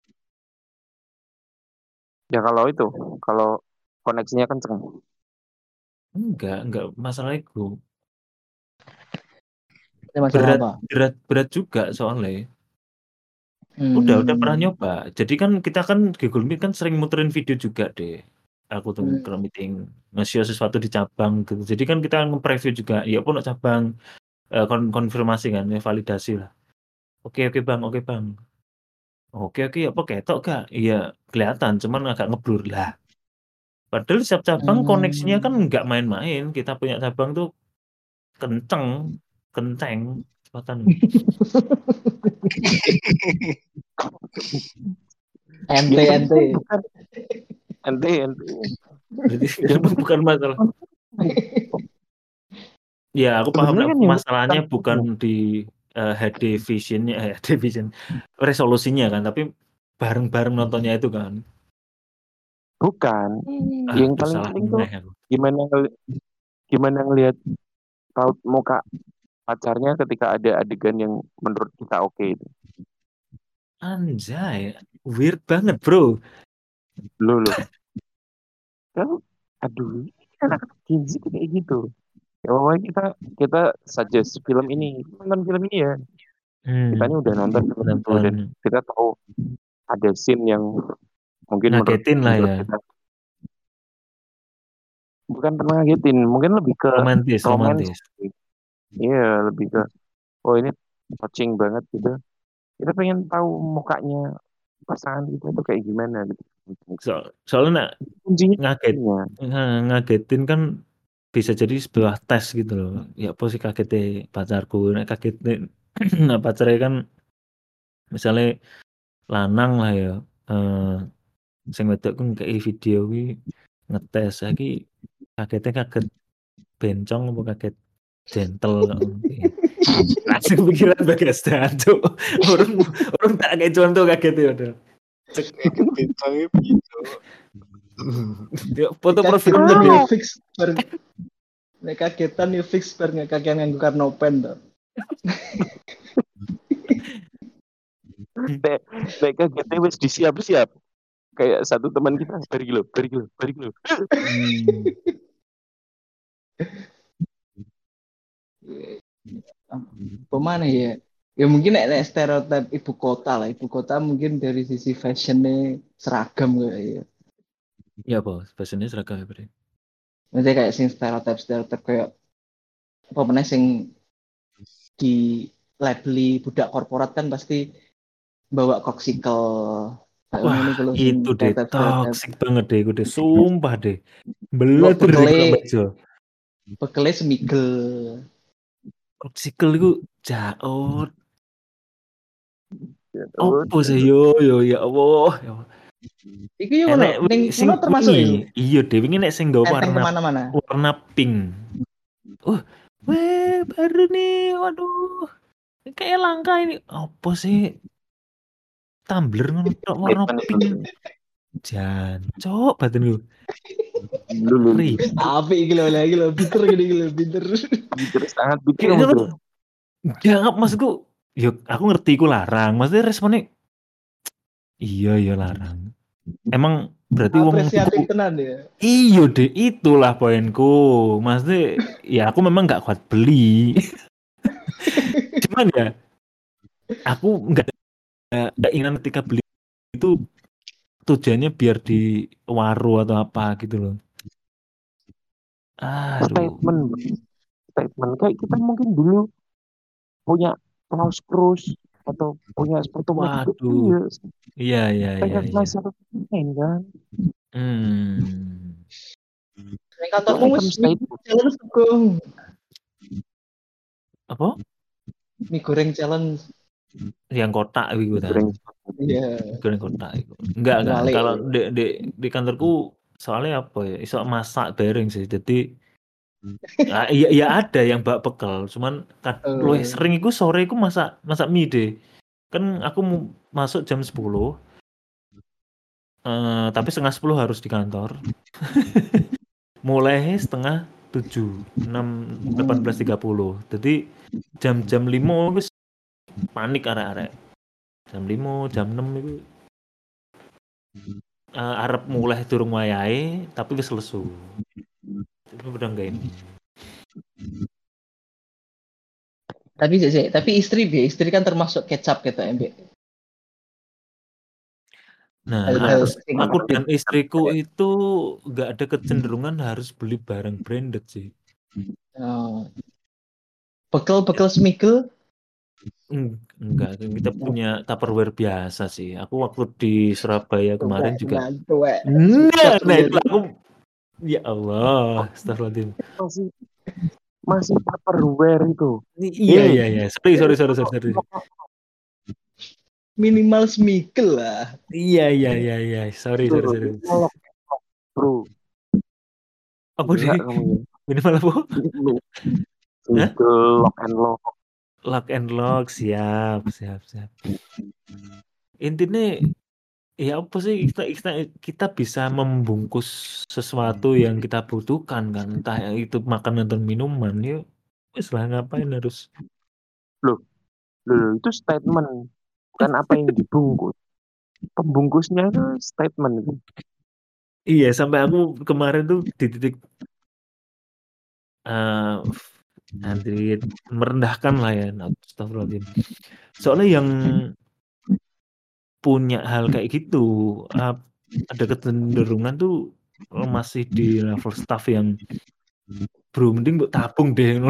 Ya kalau koneksinya kenceng. Enggak masalah itu. Masalah apa? Berat juga soalnya. Udah pernah nyoba. Jadi kan kita kan Google Meet kan sering muterin video juga deh. Aku tuh kalau meeting nge-share sesuatu di cabang gitu. Jadi kan kita nge-preview juga. Ya pun cabang konfirmasi kan, validasi lah. Oke bang. Oke apa ketok gak? Iya kelihatan, cuman agak ngeblur lah. Padahal setiap cabang koneksinya kan nggak main-main. Kita punya cabang tuh kenceng kecepatan. ente. Berarti bukan masalah. Ya aku paham Sebenarnya kan masalahnya bukan di HD visionnya, resolusinya kan, tapi bareng-bareng nontonnya itu kan. Bukan. Yang paling penting tuh gimana ngelihat raut muka pacarnya ketika ada adegan yang menurut kita oke itu. Anjay, weird banget bro. Loh. Aduh, anak Gen Z kayak gitu. Ya pokoknya kita suggest film ini, nonton film ini ya. Kita ini udah nonton film itu dan kita tahu ada scene yang mungkin ngagetin lah ya. Kita, bukan pernah ngagetin, mungkin lebih ke romantis. Iya, lebih ke ini touching banget gitu. Kita pengen tahu mukanya pasangan kita itu kayak gimana gitu. Soalnya ngagetin kan bisa jadi sebuah tes gitu loh. Ya apa sih kagetnya pacarku, kagetnya pacarnya kan misalnya lanang lah ya, sing wedok ku ngekei video ki ngetes lagi kaget bencong apa kaget gentle langsung pikiran bagas dantu orang tak kayak contoh kaget ya udah bencongnya gitu foto profilnya dia fix nek kagetan ya fix bar ngakakian nganggo karnopen to. Nek kagetnya wis disiap-siap. Kayak satu teman kita bari kilo. Pemana ya? Ya mungkin nek stereotip ibu kota mungkin dari sisi fashionnya seragam kayak ya. Iya bos, fashionnya seragam ya berarti. Maksudnya kayak sing stereotip kayak apa meneh sing di labeli budak korporat kan pasti bawa koksikel. Wah itu deh toxic banget deh, gue deh sumpah deh. Belet deh Bekele semigel. Koksikel itu jaot. Apa sih yo ya Allah. Iku yo ning sono termasuk ini. Iya deh, wingi nek sing nggawa warna pink. Weh baru nih, waduh. Kayak langka ini. Apa sih? tumbler ngono tok warna pink. Jancok batin gue. Apa iki lho lagi lho pinter gini lho pinter. Pinter sangat pinter Kayak bro. Jangan maksudku, yuk aku ngerti ku larang. Maksudnya responnya iya larang. Emang berarti wong apresiatif tenan ya. Iya deh, itulah poinku. Maksudnya ya aku memang nggak kuat beli. Cuman ya aku nggak ingin ketika beli itu tujuannya biar di waru atau apa gitu loh. Statement kayak kita mungkin dulu punya kaos Cruise atau punya sepatu Waduh. Iya. Masyarakat main kan. Kantorku wis challenge tuh. Apa? Mie goreng challenge. Yang kotak gitu kan. Iya. Goreng kotak itu. Enggak. Kalau di kantorku soalnya apa ya? Iso masak bareng sih. Jadi ya ada yang bawa bekal, cuman luwih sering iku sore iku masak mie deh. Kan aku masuk jam 10. Tapi 9:30 harus di kantor. Mulai 6:30, 18.30. Jadi jam 5 wis panik arek-arek. Jam 5, jam 6 itu arep mulai durung wayahe tapi wis lesu. Itu udah enggak ini. Tapi istri kan termasuk kecap gitu Mbak. Nah, aku dan istriku itu nggak ada kecenderungan harus beli barang branded sih. Bekal smigel? Enggak, kita punya Tupperware biasa sih. Aku waktu di Surabaya kemarin juga. Nah itu aku, ya Allah, astagfirullahaladzim. Masih Tupperware itu. Iya. Sorry. Minimal smigel lah. Iya. Sorry. Bro. Apa sih? Minimal apa? Lock and lock, siap. Intinya ya apa sih kita bisa membungkus sesuatu yang kita butuhkan kan, entah itu makanan atau minuman, ya wis lah ngapain harus. Loh, itu statement, bukan apa yang dibungkus. Pembungkusnya itu statement. Iya, sampai aku kemarin tuh di titik nanti merendahkan lah ya, astagfirullahaladzim. Soalnya yang punya hal kayak gitu ada kecenderungan tuh masih di level staff yang bro mending buat tabung deh.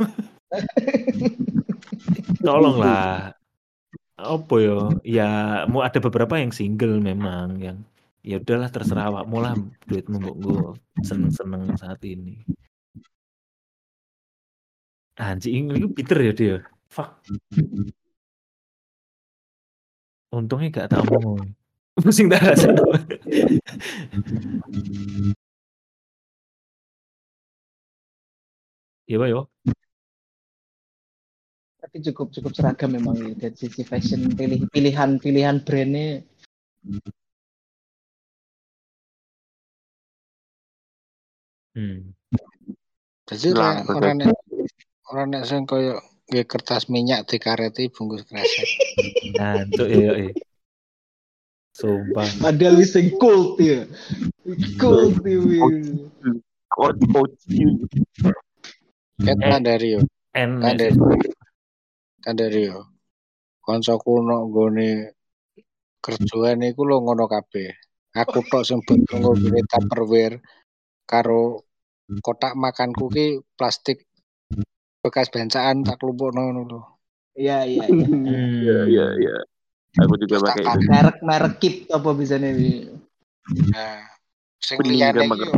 Tolonglah apa ya mau ada beberapa yang single memang yang ya udahlah terserah awakmu lah duitmu mbok gue seneng saat ini. Anjing itu Peter ya dia. Fuck. Untungnya gak tak omong. Pusing dah rasanya. Iya, Pak, yo. Tapi cukup seragam memang dari sisi fashion, pilihan brandnya. Jadi orang yang sing koyo nggih kertas minyak dikareti bungkus kresek. Nah, itu ya. Sumpah. Padahal wis sing cold ya. Cold ya. Kandario. Kancaku nok nggone kerjaan iku lho ngono kabeh. Aku tok sing nggo Tupperware karo kotak makanku ki plastik bekas bencaan tak klumpukno ngono lho. Iya. Aku juga pakai itu. Merek kip apa bisane iki. Nah, sing liyane iki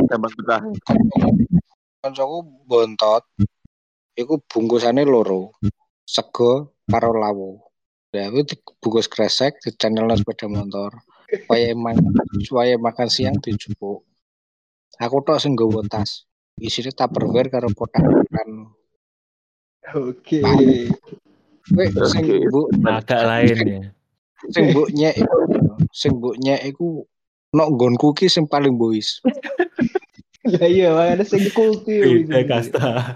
kancaku bontot. Iku bungkusane loro. Sego karo lawo. Ya itu bungkus kresek di channel sepeda motor. Supaya makan siang dijupuk. Aku tok sing nggawa tas. Isine Tupperware karo kotak makan. Oke. Sing Bu agak lain ya. Sing mboknya iku nok nggonku ki sing paling boys. Lah iya, makanya sing cool tuh. Beda kasta.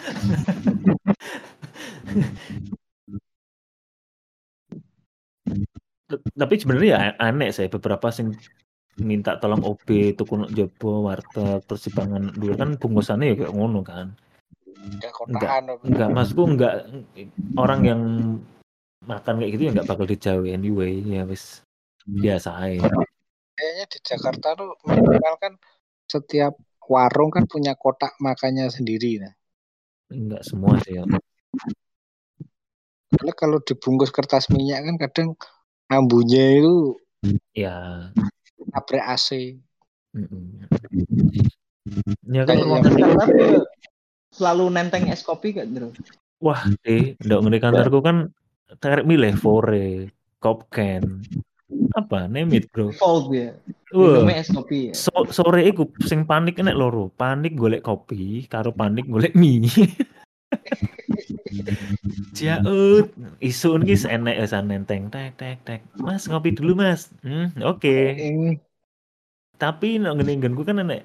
Tapi sebenarnya ya aneh sih beberapa sing minta tolong OB tuku jobo warteg terus dipangan dulu kan bungkusannya ya kayak ngono kan. Enggak maksudku enggak orang yang makan kayak gitu ya enggak bakal dijauhi anyway ya wis biasa aja. Kayaknya di Jakarta tuh minimal kan setiap warung kan punya kotak makannya sendiri nah. Enggak semua sih ya. Karena kalau dibungkus kertas minyak kan kadang ambunya itu ya nabrak AC. Ya kan tapi selalu nenteng es kopi kan bro. Wah ndak ngeri kantorku kan tarik milih Fore, Kopken, apa name it bro. Fold ya. Minumnya es kopi ya. Sore iku sing panik nek loro, panik golek kopi karo panik golek mie. Jaut, isu ini enek esan nenteng tek. Mas ngopi dulu mas. Oke. Tapi nek ngene-ngene kan enek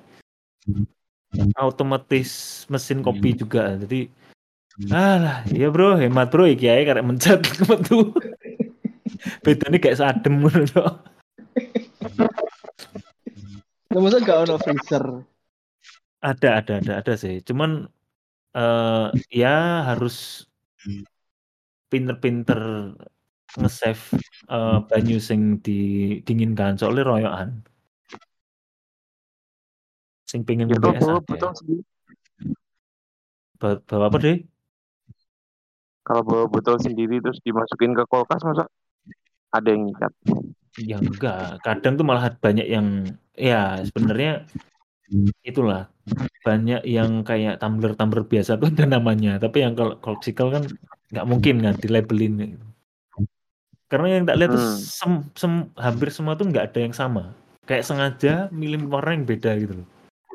otomatis mesin kopi juga. Jadi alah, iya bro, hemat bro iki ae karek mencet metu. Bedane kayak sadem ngono to. Masa gak ono freezer? Ada sih. Cuman ya harus pinter-pinter nge-save banyu sing didinginkan soalnya royokan. Sing pengen ngombe es botol sendiri. Bawa apa deh? Kalau bawa botol sendiri terus dimasukin ke kulkas masa ada yang ngikat? Ya enggak, kadang tuh malah banyak yang ya sebenarnya itulah banyak yang kayak tumbler biasa tuh ada namanya, tapi yang kalau Corkcicle kan nggak mungkin kan dilabelin gitu. Karena yang tak lihat tuh hampir semua tuh nggak ada yang sama, kayak sengaja milih warna yang beda gitu loh.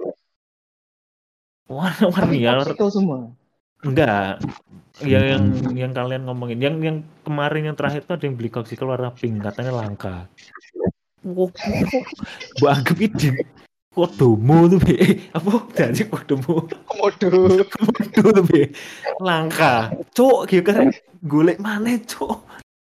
Warna-warni ya. Corkcicle semua. Enggak. Yang kalian ngomongin, yang kemarin yang terakhir tuh ada yang beli Corkcicle warna pink, katanya langka. Mbak anggap itu kodomo tuh apa jadi kodomo tuh langka cok gitu kan golek mana cok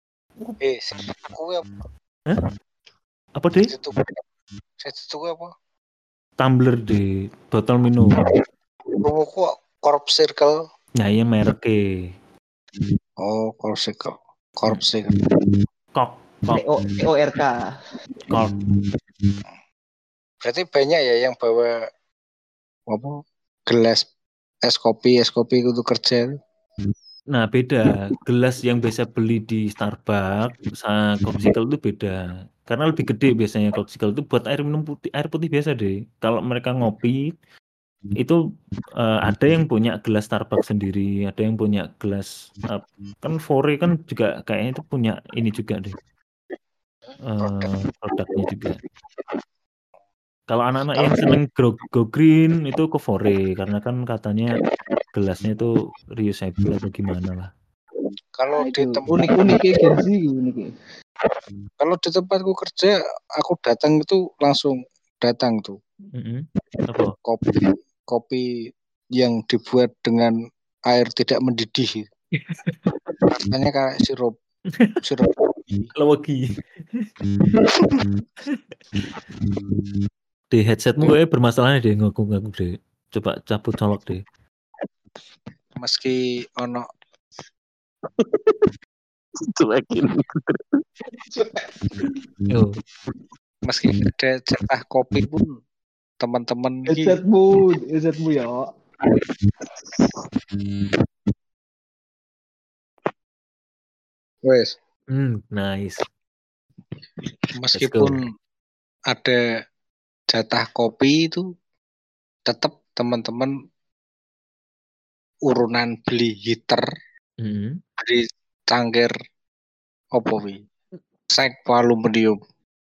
apa deh apa tumbler di botol minum kok Corp Circle nah iya mereknya Corp Circle Corp CORK Corp. Berarti banyak ya yang bawa apa gelas es kopi itu kerja. Nah beda, gelas yang biasa beli di Starbucks sama Corkcicle itu beda. Karena lebih gede biasanya Corkcicle itu buat air putih biasa deh. Kalau mereka ngopi itu ada yang punya gelas Starbucks sendiri, ada yang punya gelas kan Fore kan juga kayaknya itu punya ini juga deh. Produknya juga. Kalau anak-anak yang seneng go green itu ke Fore karena kan katanya gelasnya itu reusable atau gimana lah. Kalau di tempat unik unik. Kalau di tempatku kerja, aku datang itu langsung datang tuh. Apa? Kopi yang dibuat dengan air tidak mendidih. Rasanya kayak sirup lagi. Di headsetmu kayak bermasalah deh ngaku deh. Coba cabut colok deh. Meski ono cuekin. Meski ada jatah kopi pun teman-teman headsetmu ya. Wes. Nice. Meskipun ada jatah kopi itu tetap teman-teman urunan beli heater dari cangkir opowi sek aluminium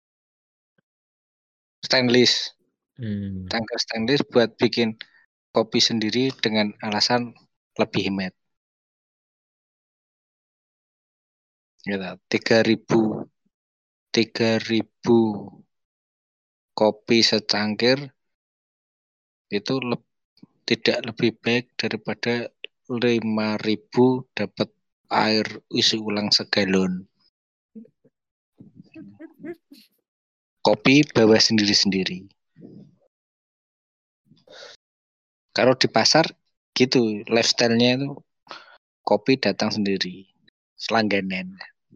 stainless cangkir stainless buat bikin kopi sendiri dengan alasan lebih hemat gitu, 3.000 3.000 kopi secangkir itu tidak lebih baik daripada 5.000 dapat air isi ulang segalon. Kopi bawa sendiri-sendiri. Kalau di pasar gitu, lifestyle-nya itu kopi datang sendiri, selangganan.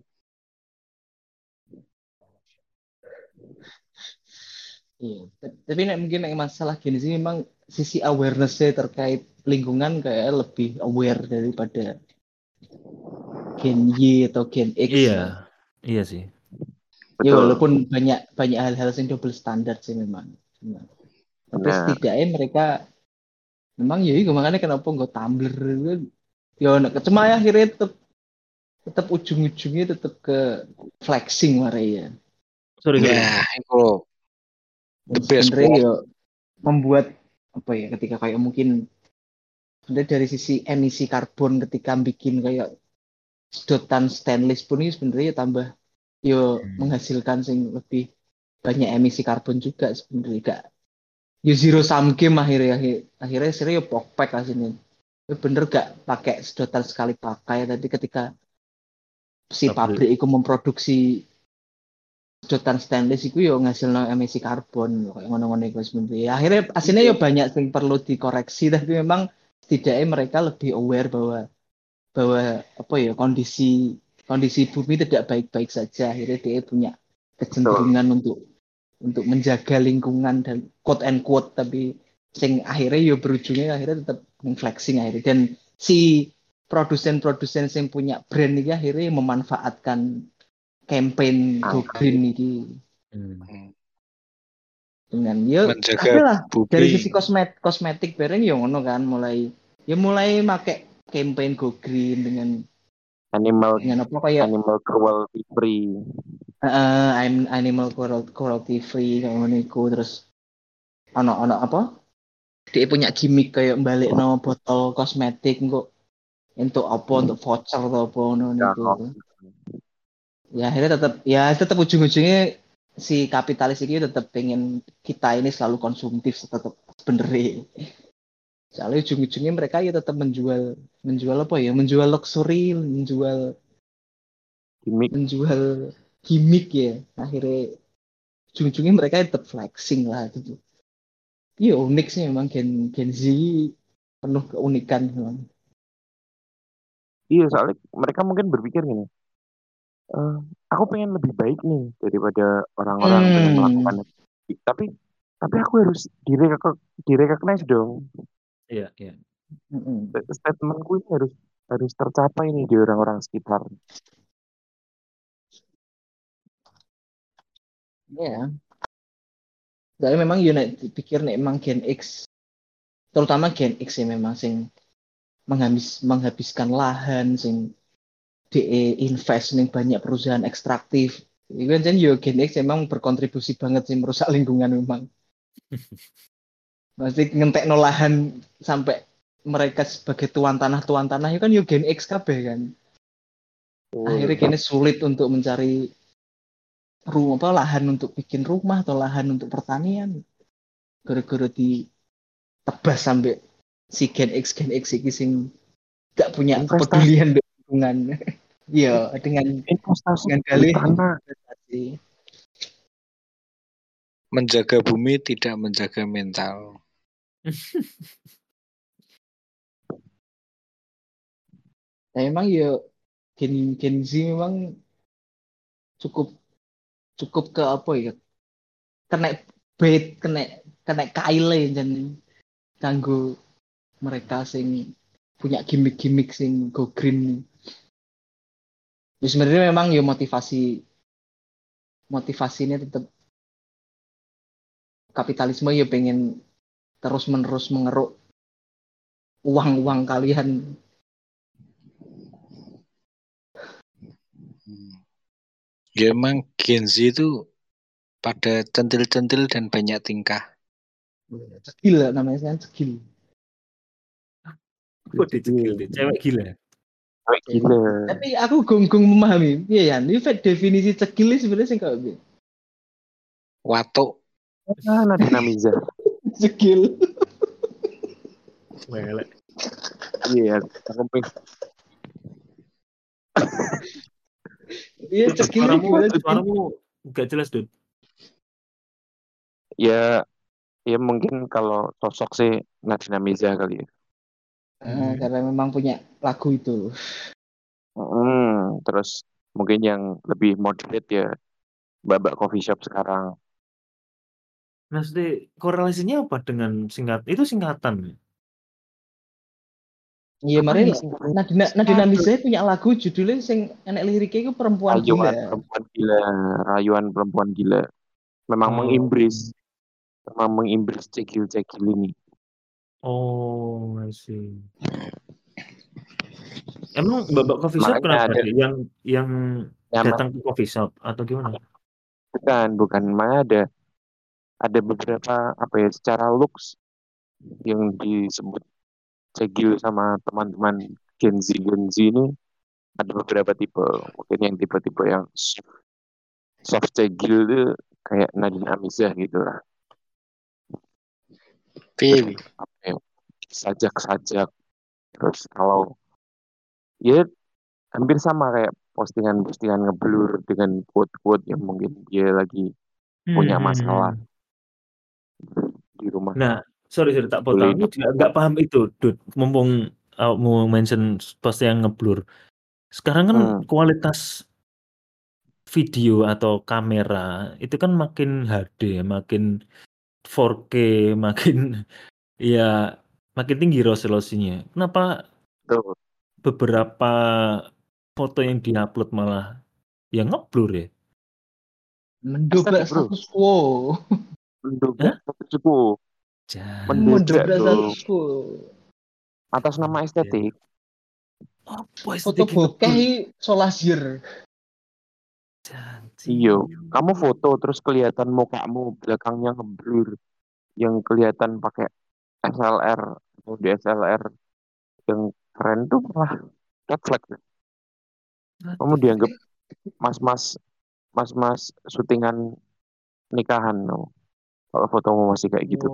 Iya, tapi mungkin masalah gini sih memang sisi awareness-nya terkait lingkungan kayak lebih aware daripada Gen Y atau Gen X. Iya sih. Ya walaupun banyak hal-hal yang double standar sih memang. Tapi setidaknya mereka memang ya makanya kenapa nggak Tumblr ya cuma ya akhirnya tetap ujung-ujungnya tetap ke flexing ya. Sorry. Ya, itu the best sebenarnya ya membuat apa ya ketika kayak mungkin dari sisi emisi karbon ketika bikin kayak sedotan stainless pun ini sebenarnya tambah yo menghasilkan sing lebih banyak emisi karbon juga sebenarnya gak yo zero sum game akhirnya serius yo pokpek lah sini. Bener gak pakai sedotan sekali pakai tadi ketika si pabrik itu memproduksi sedotan stainless itu yo ngasilno emisi karbon kayak ngono-ngono iku sebenarnya. Akhirnya aslinya yo banyak yang perlu dikoreksi tapi memang setidaknya mereka lebih aware bahwa apa ya kondisi bumi tidak baik-baik saja. Akhirnya dia punya kecenderungan untuk menjaga lingkungan dan quote and quote tapi sing akhirnya yo berujungnya akhirnya tetap flexing akhirnya dan si produsen yang punya brand ini akhirnya memanfaatkan campaign Go Green ini dengan ya lah dari sisi kosmetik bareng ya ngono kan mulai make campaign Go Green dengan animal apa kayak cruelty free. Animal cruelty free kayak ngono iku terus ono apa dia punya gimmick kayak balik no botol kosmetik kok untuk apa untuk voucher atau apa ngono niku. Ya akhirnya tetap ujung-ujungnya si kapitalis ini tetap pengen kita ini selalu konsumtif tetap sebenarnya. Soalnya ujung-ujungnya mereka ya tetap menjual apa ya? Menjual luxury, menjual gimmick ya. Akhirnya ujung-ujungnya mereka tetap flexing lah gitu. Iya unik sih memang Gen Z penuh keunikan memang. Iya soalnya mereka mungkin berpikir gini, aku pengen lebih baik nih daripada orang-orang pengen melakukan itu. Tapi aku harus direcognize dong. Iya. Statementku ini harus tercapai nih di orang-orang sekitar. Iya. Jadi memang United pikir nih memang Gen X, terutama Gen X ya memang sing menghabiskan lahan sing invest ning banyak perusahaan ekstraktif. Iku kan Gen X memang berkontribusi banget sih merusak lingkungan memang. Masih ngentekno lahan sampai mereka sebagai tuan tanah itu kan Gen X kabeh kan. Akhirnya kini sulit untuk mencari lahan untuk bikin rumah atau lahan untuk pertanian. Gara-gara ditebas sampai si Gen X iki sing gak punya kepedulian dengan lingkungan. Iya, dengan dalih investasi. Menjaga bumi tidak menjaga mental. Nah, memang ya Gen Z memang cukup ke apa ya? Kena bait, kena kaile dan kanggo mereka sing punya gimmick sing go green. Ya sebenarnya memang ya motivasinya tetap kapitalisme ya pengen terus-menerus mengeruk uang kalian. Ya emang Gen Z itu pada centil-centil dan banyak tingkah. Gila namanya kan skill. Cewek gila. Gila. Tapi aku gonggong memahami. Iya ya, ini definisi cekil ini sebenarnya sing kok piye? Watuk. Nadine Amiza. Cekil. Welek. Iya, aku pengen. Iya cekil gimana cekil? Suaramu nggak jelas, Dut. Ya mungkin kalau sosok sih Nadine Amiza kali ya. Karena memang punya lagu itu. Terus mungkin yang lebih moderate ya Mbak Coffee Shop sekarang. Maksudnya korelasinya apa dengan itu singkatan? Iya, Apa mari nih singkatnya? Nadine Amiza punya lagu judulnya sing enek liriknya itu perempuan Rayuan gila. perempuan gila, rayuan perempuan gila. Memang mengimbris cekil-cekil ini. Oh, I see. Emang Mbak Coffee Shop Makanya kenapa ada deh? Yang nama, datang ke coffee shop atau gimana? bukan, makanya ada beberapa apa ya secara looks yang disebut cekil sama teman-teman Gen Z ini ada beberapa tipe. Mungkin yang tipe-tipe yang soft cekil itu kayak Nadine Amiza gitu lah. Piye? Sajak-sajak. Terus kalau ya hampir sama kayak postingan-postingan ngeblur dengan quote-quote yang mungkin dia lagi punya masalah di rumah. Nah, sorry tak Boleh potong. Aku juga nggak paham itu, Dut. Mumpung mau mention post yang ngeblur. Sekarang kan kualitas video atau kamera itu kan makin HD, makin 4K, makin ya makin tinggi resolusinya. Kenapa tuh beberapa foto yang diupload malah yang ngeblur ya? Mendobrak status quo. mendobrak status quo. Mendobrak status quo. Atas nama estetik. Foto bokeh solasier. Iyo, kamu foto terus kelihatan mukamu belakangnya ngeblur, yang kelihatan pakai SLR atau DSLR yang keren tuh malah red flag. Kamu dianggap mas-mas syutingan nikahan no. Kalau fotomu masih kayak gitu.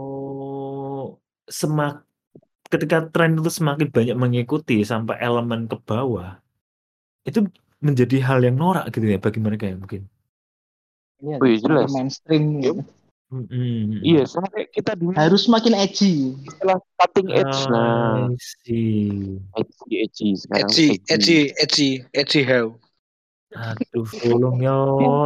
Ketika tren itu semakin banyak mengikuti sampai elemen ke bawah, itu menjadi hal yang norak gitu ya bagi mereka ya mungkin. Iya, jelas. Mainstream. Gitu. Iya, sama kayak kita dulu. Harus makin edgy. Istilah cutting edge, nah. Edgy sekarang. Edgy how. Aduh, tolong yo.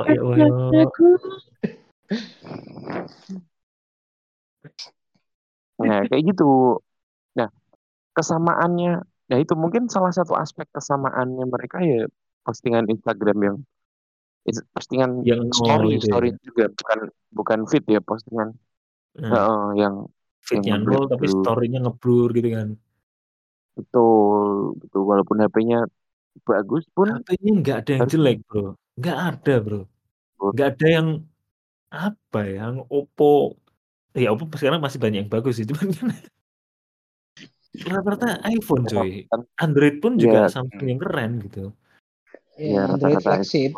Nah, kayak gitu. Nah, kesamaannya, nah itu mungkin salah satu aspek kesamaannya mereka ya postingan Instagram yang postingan yang story ya. juga bukan feed ya postingan yang feednya nol tapi story-nya ngeblur gitu kan. Betul walaupun HP-nya bagus pun HP-nya nggak ada yang jelek bro, nggak ada bro, nggak ada yang apa ya, yang Oppo sekarang masih banyak yang bagus sih cuman kan rata-rata iPhone cuy, Android pun juga Samsung yang keren gitu. Iya, Android flagship.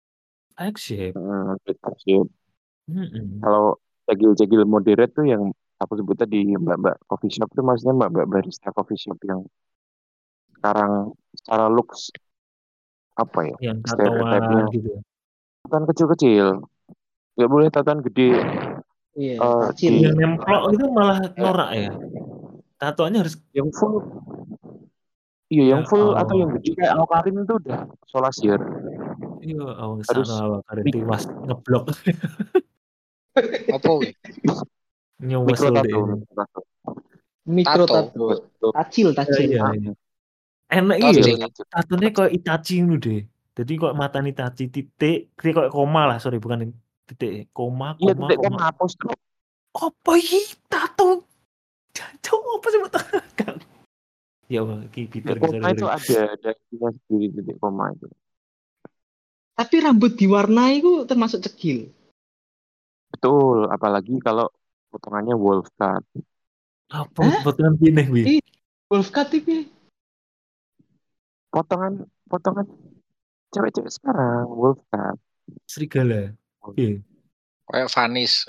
Kalau cegil moderate tuh yang aku sebut tadi mbak coffee shop tuh maksudnya mbak barista coffee shop yang sekarang secara looks apa ya yang tatoan gitu. Tatoan kecil-kecil, nggak boleh tatoan gede. Iya, yang nemplok itu malah norak ya. Tatoannya harus yang full. Iya, yang full atau yang gede kayak Awkarin itu udah solasier. Iya, harus Awkarin tiwas ngeblok. Apa wih? Mikro tato. Tacil. Iya. Enak iya. Tatonya kayak Itachi ngono deh. Jadi kok mata Itachi titik kayak koma lah, sorry bukan titik koma. Iya, titik koma apostrof. Apa iki tato? Coba apa sih buat ya Allah, Peter koma itu ada sendiri titik koma itu. Tapi rambut diwarnai itu termasuk cekil. Betul, apalagi kalau potongannya wolf cut. Apa potongan pineh wi? Wolf cut itu. potongan cewek-cewek sekarang Wolfcat. Serigala. Iya. Kayak Vanis.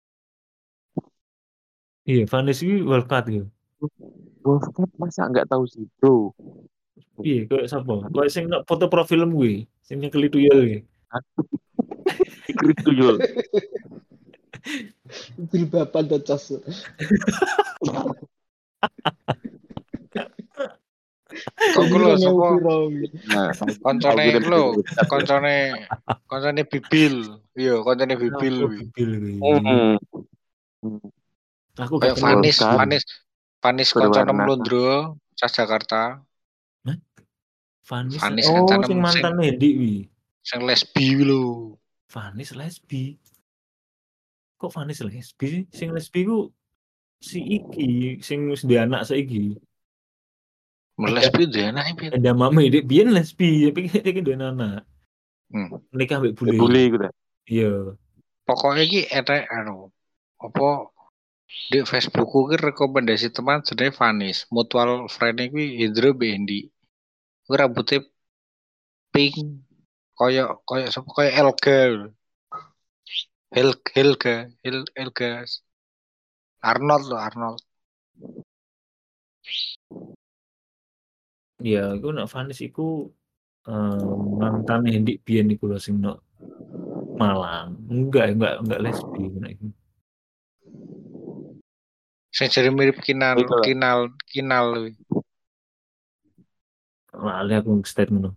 Iya, Vanis ini Wolfcat gitu. Wolfcat masa nggak tahu sih, bro? Iya, kayak siapa? Kayak sing nak foto profil gue, sing nyekel tuyul iki. Ikrit tuyul. Jilbaban docos. Kok lo sapa? Nah, Koncone akhirnya lo, bener-bener koncone Bibil. Iya, koncone Bibil. Oh, Bibil kuwi. Aku Kayak gak kenal. Vanis koncone Mlondro, Sas Jakarta. Vanis. Vanis Oh, kancanem sing mantan Hendy wi. Sing lesbi lho. Vanis lesbi. Kok Vanis lesbi sih? Sing lesbi ku si iki, sing wis duwe anak saiki. Lesbi duwe anak piye? Ada mame dik biyen lesbi, tapi iki duwe anak. Nikah mbek bule. Bule iku ta. Iya. Pokoknya iki etek apa di Facebookku ki rekomendasi teman jenenge Vanis. Mutual friend iki Indro Bendi. Kuwi rambutnya pink koyo sapa koyo Elga. Helga. Arnold. Iya, iku nek Vanis iku mantan Hendy biyen iku lho sing nok Malang. Enggak lesbi nek iku. Sing jare mirip kinal. Lali aku statement.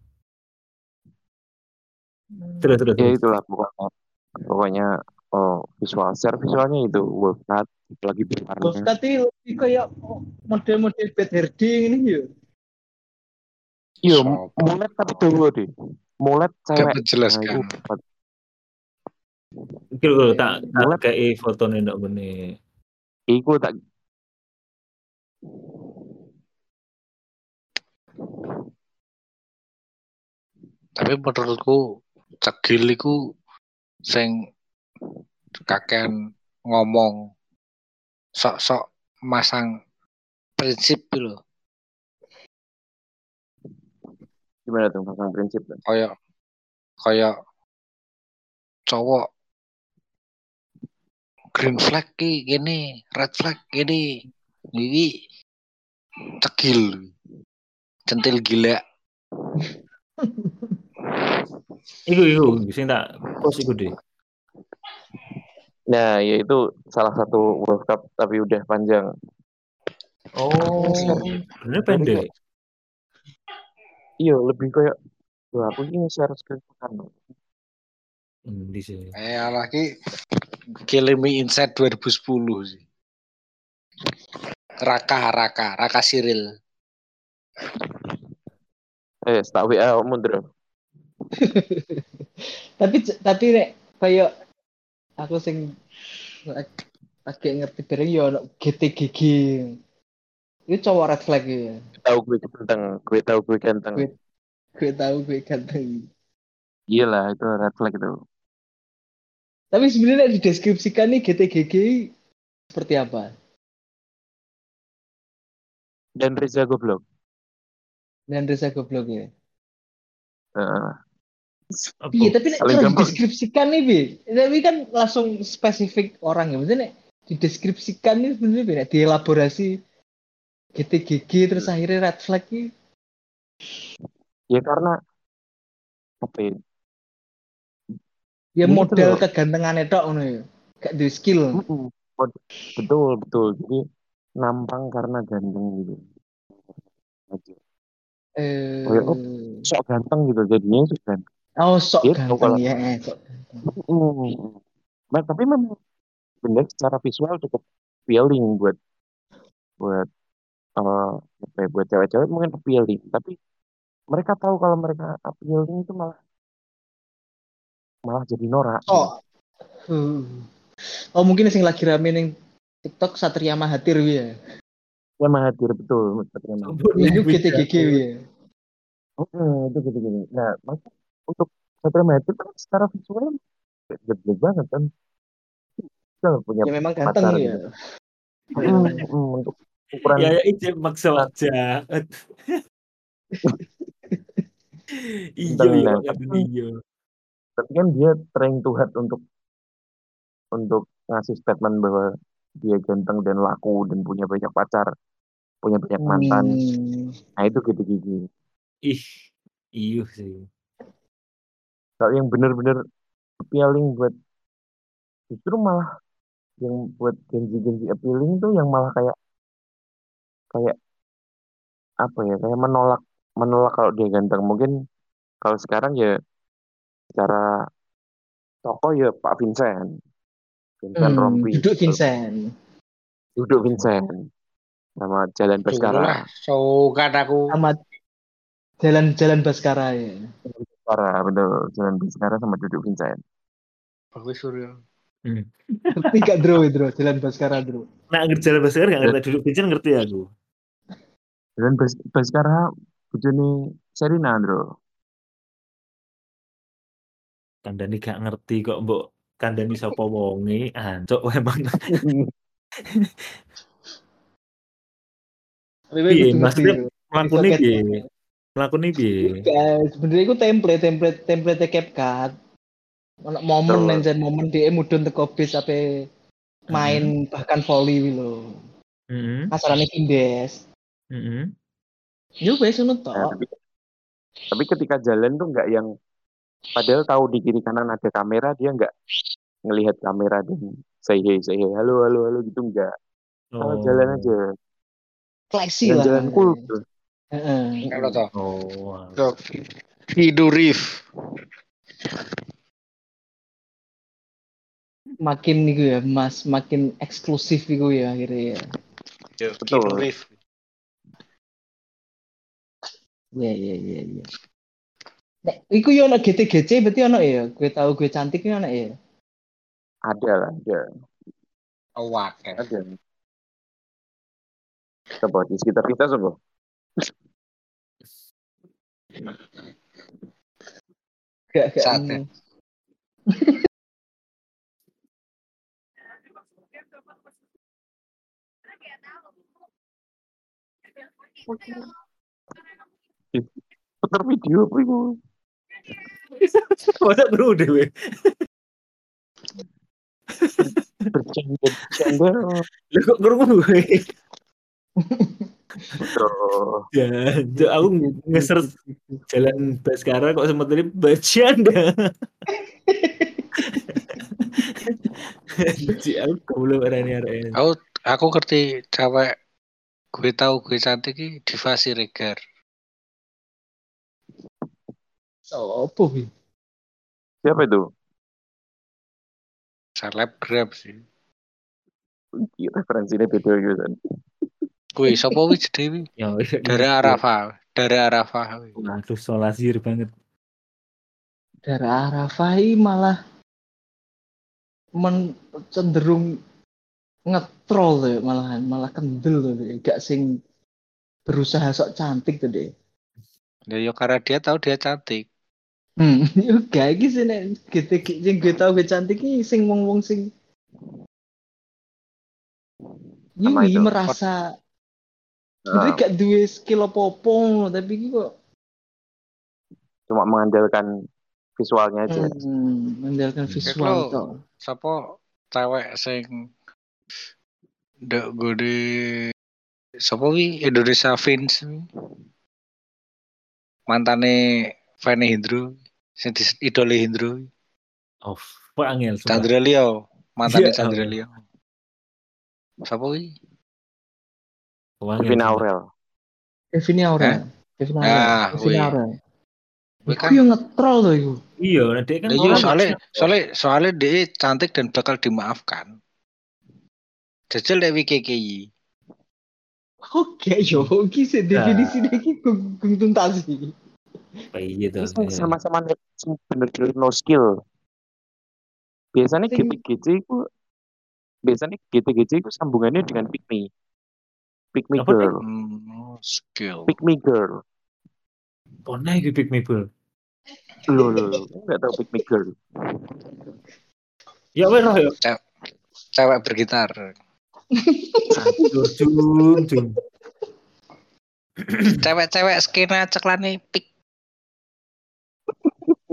Terus. Ya itulah pokoknya visualnya itu Wolfcat lagi berwarna. Wolfcat itu lebih kayak model-model bad hair ding ini ya. Iya, mulet tapi dawa deh. Mulet cewek. Menjelaskan. Iki lho tak kayak fotone ndok ngene. Iku tak tapi menurutku cegil iku sing kakean ngomong sok-sok masang prinsip lho. Gimana tuh masang prinsip? Kayak cowok green flag ki gini, red flag gini. Iki cegil. Centil gila. Iku sing tak post iku deh. Nah, ya itu salah satu World Cup tapi udah panjang. Oh, bener pendek. Iya, lebih kayak aku ini share screen kan. Di sini. Lagi Killing Me Inside 2010 sih. Raka Cyril. Tak WA mundur. tapi nek kayak aku sing lagi ngerti bareng ya GTGG. Itu cowok red flag ya. Gue tahu gue ganteng. Gue tahu gue ganteng. Iyalah, itu red flag itu. Tapi sebenarnya dideskripsikan nih GTGG seperti apa? Dan Reza goblok ya. Iya, tapi kalau dideskripsikan nih, Bi. Tapi kan langsung spesifik orang ya. Maksudnya dideskripsikan nih sebenarnya beda, dielaborasi GTGG terus akhirnya red flag nih. Ya karena apa ya? Ya model kegantengannya tok ngono ya. Gak ada skill. Betul. Jadi nampang karena ganteng gitu. Sok ganteng gitu jadinya sok ganteng. Oh, sok ganteng ya. Tapi memang benar secara visual cukup appealing buat cewek-cewek mungkin appealing, tapi mereka tahu kalau mereka appealing itu malah jadi norak. Oh mungkin sing lagi rame ning TikTok Satria Mahathir ya. Ya Mahathir betul. Itu GTGG ya. Itu gitu. Nah, untuk Satria Mahathir kan secara visual gede banget kan. Punya ya memang ganteng ya. Gitu. Untuk ukuran ya ijek maksa aja. Iya ya, Nah, iya. tapi kan dia trying to hard untuk ngasih statement bahwa dia ganteng dan laku dan punya banyak pacar, punya banyak mantan. Nah itu gitu-gitu. Ih, iya sih. Kalau yang bener-bener appealing buat, justru malah yang buat genji appealing tuh yang malah kayak kayak apa ya, kayak menolak menolak kalau dia ganteng. Mungkin kalau sekarang ya secara tokoh ya Pak Vincent Rompi, Duduk Vincent. duduk Vincent sama Jalan Dulu lah, Baskara. kan aku. Sama jalan-jalan Baskara ya. Baskara, betul. Jalan Baskara sama duduk Vincent. Bakti Surya. Ngerti gak Dro, jalan Baskara Dro? Nah, jalan Baskara gak ngerti, duduk Vincent ngerti aku. Jalan Baskara bojone Serina, Bro. Kandani gak ngerti kok mbok kandani sapa wonge, ancuk emang. Piye maksudnya mlakune piye? Mlakune piye? Sebenarnya itu template CapCut. Ono momen nang momen dia mudhun teko bis ape main bahkan volley lho. Kasarane Kindes. Yo wes ngono tok. Tapi ketika jalan tuh nggak yang, padahal tahu di kiri kanan ada kamera, dia nggak ngelihat kamera dan say hey halo gitu, nggak. Kalau jalan aja Flexi lah. Jalan cool tuh. Kalau toh. Oh. Hidurif. Makin niku ya, Mas, makin eksklusif iku ya akhirnya ya. Hidurif. Iya. Nek iku yo ana GTGC berarti ana ya. Gue tahu gue cantik ana ya. Ada lah, ada. Awak. Ada. Coba di sekitar kita coba. Gak. Sate. Putar video apa itu? Masa bro dewe. Bercanda. Lah kok ngrungu gue. Bro. Ya, aku nge-search jalan Baskara kok sempat tadi bercanda. Aku belum arane. Aku ngerti cewek gue tahu gue cantik ki Diva Siregar. Apa sih? Siapa itu? Selebgram sih. Referensinya beda gitu kan. Kui sapa wis Dewi? Dara Arafah. Waduh, solasir banget. Dara Arafah malah cenderung ngetrol tuh malah kendel tuh gak sing berusaha sok cantik tuh deh. Ya karena dia tahu dia cantik. Gak iki sih nek sing gue tau gue cantik iki sing wong-wong sing Yui merasa sebenarnya gak duwe skill apa-apa tapi iki kok cuma mengandalkan visualnya aja. Mengandalkan visual toh. Sapa cewek sing ndak gede sapa wi Indonesia Vince mantane Fanny Hindro sing idole Hindro. Oh, angel. Chandra Leo, mantane Chandra Leo. Sapa wi? Kevin Aurel. Kevin Aurel. Iku yang ngetrol tuh iku. Iya, dia kan soalnya dia cantik dan bakal dimaafkan. Jajal Dewi KKI. Oke, yo, iki sih definisi iki tuntas. Gitu. Sama-sama bener-bener no skill. Biasanya GTGC itu sambungannya dengan pick me girl. Skill. Pick me girl. Pernah itu pick me girl. Lo nggak tahu pick me girl. Ya benar ya. Cewek bergitar. Jum. Cewek-cewek skena ceklane pick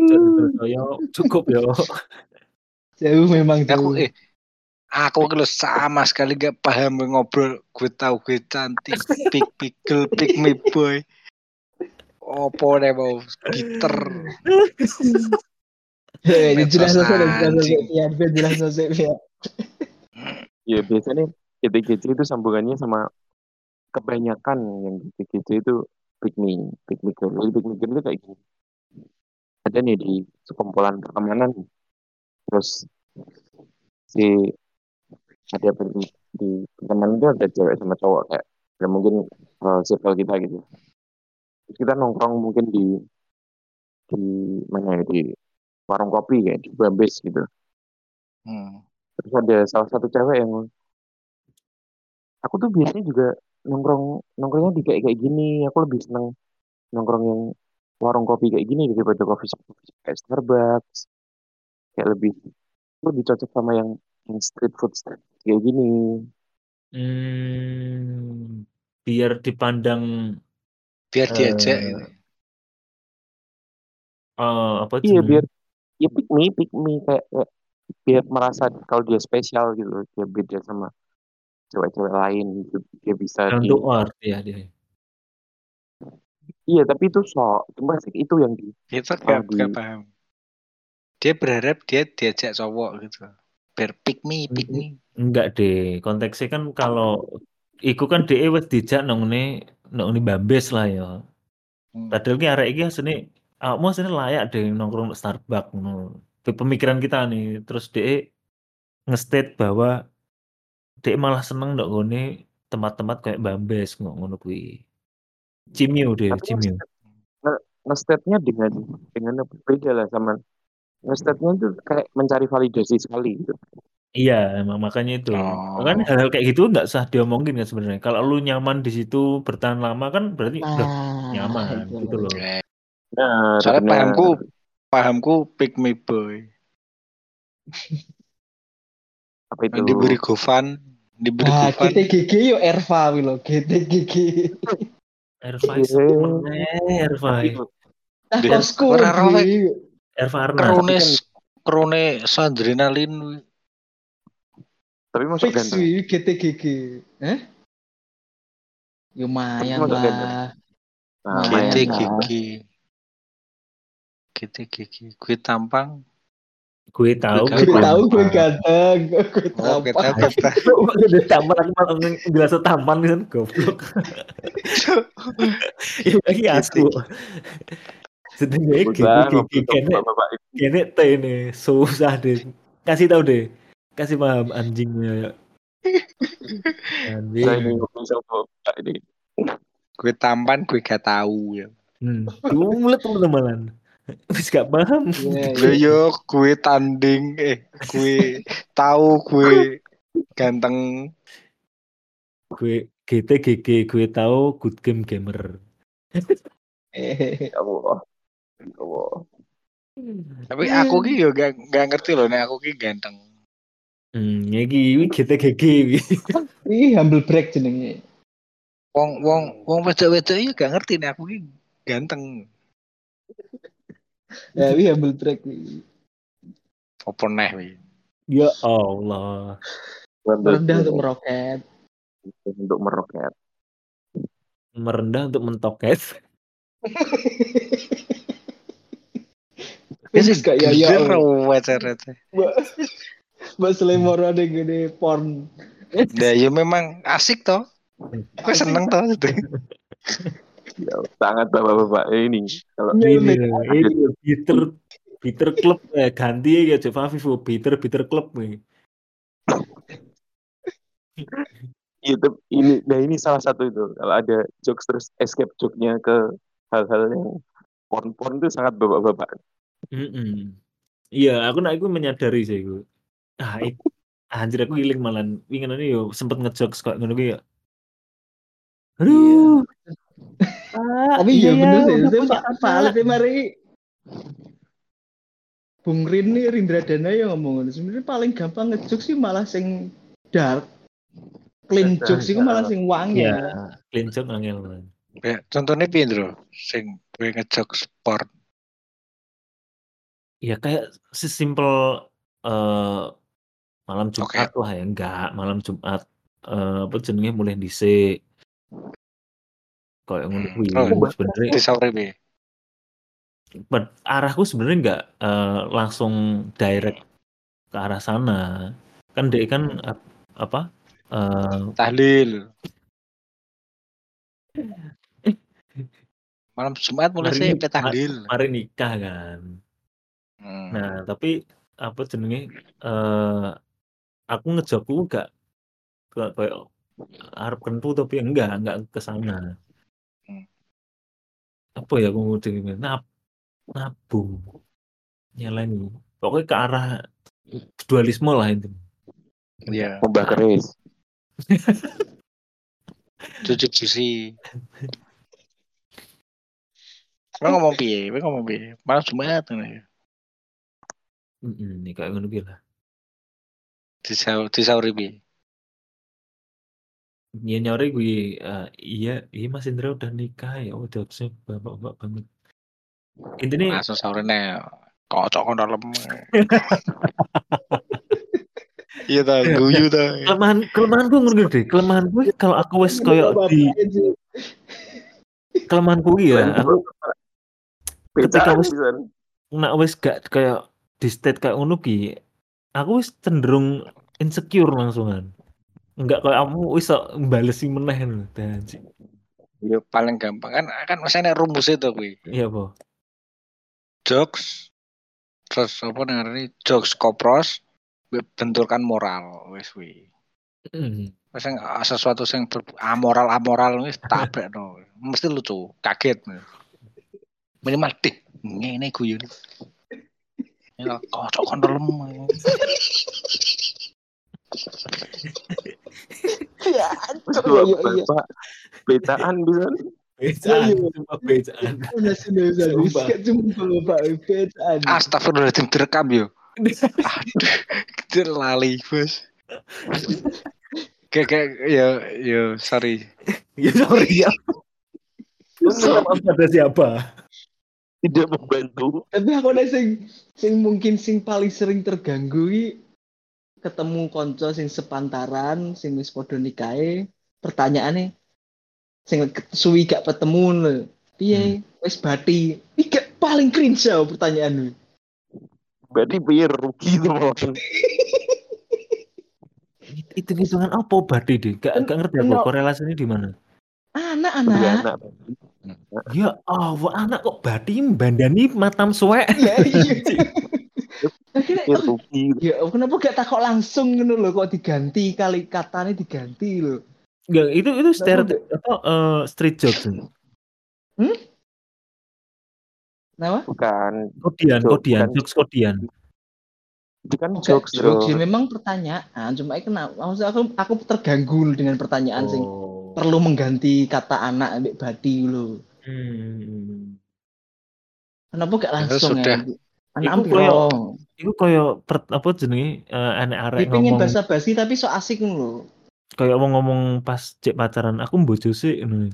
Terus saya cukup ya. Jauh memang Aku jauh. aku kalau sama sekali gak paham ngobrol. Gue tahu gue cantik, pick pickle, pick me boy. Opo deh mau gitar. Jelas Medsos selesai anjing. jelas selesai ya. Ya biasanya GTGC itu sambungannya sama kebanyakan yang GTGC itu pick me girl. Jadi pick me girl itu kayak gini. Ada nih di sekumpulan pertemanan, terus si ada di pertemanan itu ada cewek sama cowok kayak ya mungkin circle kita gitu. Terus kita nongkrong mungkin di mana ya di warung kopi kayak di Bambes gitu. Terus ada salah satu cewek yang aku tuh biasanya juga nongkrongnya di kayak gini. Aku lebih seneng nongkrong yang warung kopi kayak gini daripada coffee shop kayak Starbucks. Kayak lebih cocok sama yang street food kayak gini. Biar dipandang Biar diajak eh gitu. apa Iya biar jenenge? ya pick me kayak biar merasa kalau dia spesial gitu, dia beda sama cewek-cewek lain gitu. Dia bisa Down to earth ya dia. iya tapi itu cuma sih itu yang Kita malah gak paham. Dia berharap dia diajak cowok gitu. Biar pick me. Enggak deh, konteksnya kan kalau iku kan DE wis dijak nang ngene Bambes lah ya. Padahal ki arek iki asline awakmu asline layak deh nongkrong di Starbucks ngono. Itu pemikiran kita nih. Terus DE nge-state bahwa DE malah seneng ndok ngene tempat-tempat kayak Bambes ngono kuwi. Cimio deh, tapi Cimio. nge-state-nya dengan yang berbeda lah sama nge-state-nya itu kayak mencari validasi sekali gitu. Iya, emang makanya itu. Makanya hal-hal kayak gitu nggak usah diomongin kan sebenarnya. Kalau lu nyaman di situ bertahan lama kan berarti udah nyaman Itu gitu loh. Benar, Soalnya benar. pahamku pick me boy. Apa itu? Diberi Gofan. GTGG yo Erva wilo GTGG. Erva mana Erva? Nah, Deh, kosku ora rowe. Erva Arnas. Krone Sandrinalin. Tapi masuk fix ganteng. GTGG. Lumayan Masuk ganteng. lah. Nah, GTGG. Gue tampang. Gue tahu gue ganteng. Gue tampang. Udah tampang aku malah jelas tampan kan goblok. Ini aku. Sedangnya kene teh nih susah deh. Kasih tahu deh. Kasih paham anjingnya. Anjing. Gue tampan, gue gak tahu ya. Dulet teman-teman. Wis gak paham. Yo gue tanding gue tahu gue ganteng. Gue GTGG gue tahu good game gamer. Ya Allah. Tapi aku ki yo gak ngerti loh nek aku ki ganteng. Iki GTGG. Ih, humble break jenenge. Wong wedok-wedok iki gak ngerti nek aku ki ganteng. Ya, wi humble break wi. Apa neh wi? Ya Allah. Merendah untuk meroket. Merendah untuk mentoket. Fix gak ya ya. Mbak Selemor ada gede porn. Nah, ya memang asik toh. Gue seneng toh itu. Ya, sangat bapak-bapak ini. Kalau ini Peter Club ganti ya coba Vivo Peter Club nih. ini salah satu itu. Kalau ada jokes terus escape joke-nya ke hal-hal yang porn itu sangat bapak-bapak. Iya, aku menyadari sih gue. Anjir aku giling malah ingin ini yo sempet ngejokes kok ngono ya. Aduh. Tapi iya bener sih, valid mari Bung Rindra Dana yang ngomong sebenarnya paling gampang ngejokes sih malah sing dark. Clean jokes itu malah sing wangi. Iya, clean joke angel. Ya, contohnya piye, Bro? Sing gue ngejokes sport. Ya kayak sesimpel malam Jumat lah ya, enggak malam Jumat apa jenenge mulai dhisik. Kayak ngono kuwi sebenarnya. Disauri Arahku sebenarnya enggak langsung direct ke arah sana. Kan dia kan apa? tahlil. Malam Jumat mulai sih tahlil. Mari nikah kan. Nah, tapi apa jenenge aku ngejaku enggak kayak arep kentu tapi enggak ke sana. Apa ya aku ngomong nabung nyeleni. Pokoknya ke arah dualisme lah itu. Iya. Mbak keris. Cuci bersih. Ngomong piye? Malam Jumat ngene. Nih kayak ngono ki lah. Disauri piye? Ya nyore gue iya Mas Indra udah nikah ya udah sih bapak banget. Intinya langsung saurene kocok kon dalem. Iya ta, guyu ta. Kelemahan gue ngono deh. Kelemahan gue kalau aku wes koyo di kelemahan gue ya aku ketika wes gak kayak di state kayak ngono ki aku wes cenderung insecure langsungan. Enggak kayak kamu wis balesi meneh lho anjing. Ya paling gampang kan masane rumus itu kuwi. Iya, Po. Jokes terus apa namanya jokes kopros benturkan moral wis kuwi. Wis sesuatu yang amoral wis tabrakno. Mesti lucu, kaget. Minimal dik ngene guyu. Ya kocok kon dalem. Ya, Bapak becaan bisa. Becaan. Astagfirullahaladzim direkam yo. Aduh, lali bos. Kayak ya sorry. Ya sorry ya. Ada siapa? Tidak membantu. Tapi aku ada sing mungkin sing paling sering terganggu ketemu konco sing sepantaran, sing wis padha nikahe, pertanyaane sing suwi gak ketemu lho. Piye wis bati? Iki paling cringe pertanyaanmu. Berarti piye rugi itu malah. Itu hitungan apa bati deh? Gak ngerti aku korelasinya di mana. Anak. Ya Allah, anak kok bati bandani matam suwek. Ya, kenapa gak takok langsung ngono lho kok diganti kali katanya diganti lho. Enggak, itu stereotip atau street jokes. Kenapa? Bukan. Kodian, jokes kodian. Itu kan jokes memang pertanyaan, cuma maksud aku terganggu dengan pertanyaan sing perlu mengganti kata anak ambek badi lho. Kenapa gak langsung ya? Anak Iku koyo apa jenenge anak arek ngomong. Dipengin basa-basi tapi so asik lho. Kayak ngomong pas cek pacaran, aku bojo sih ngono.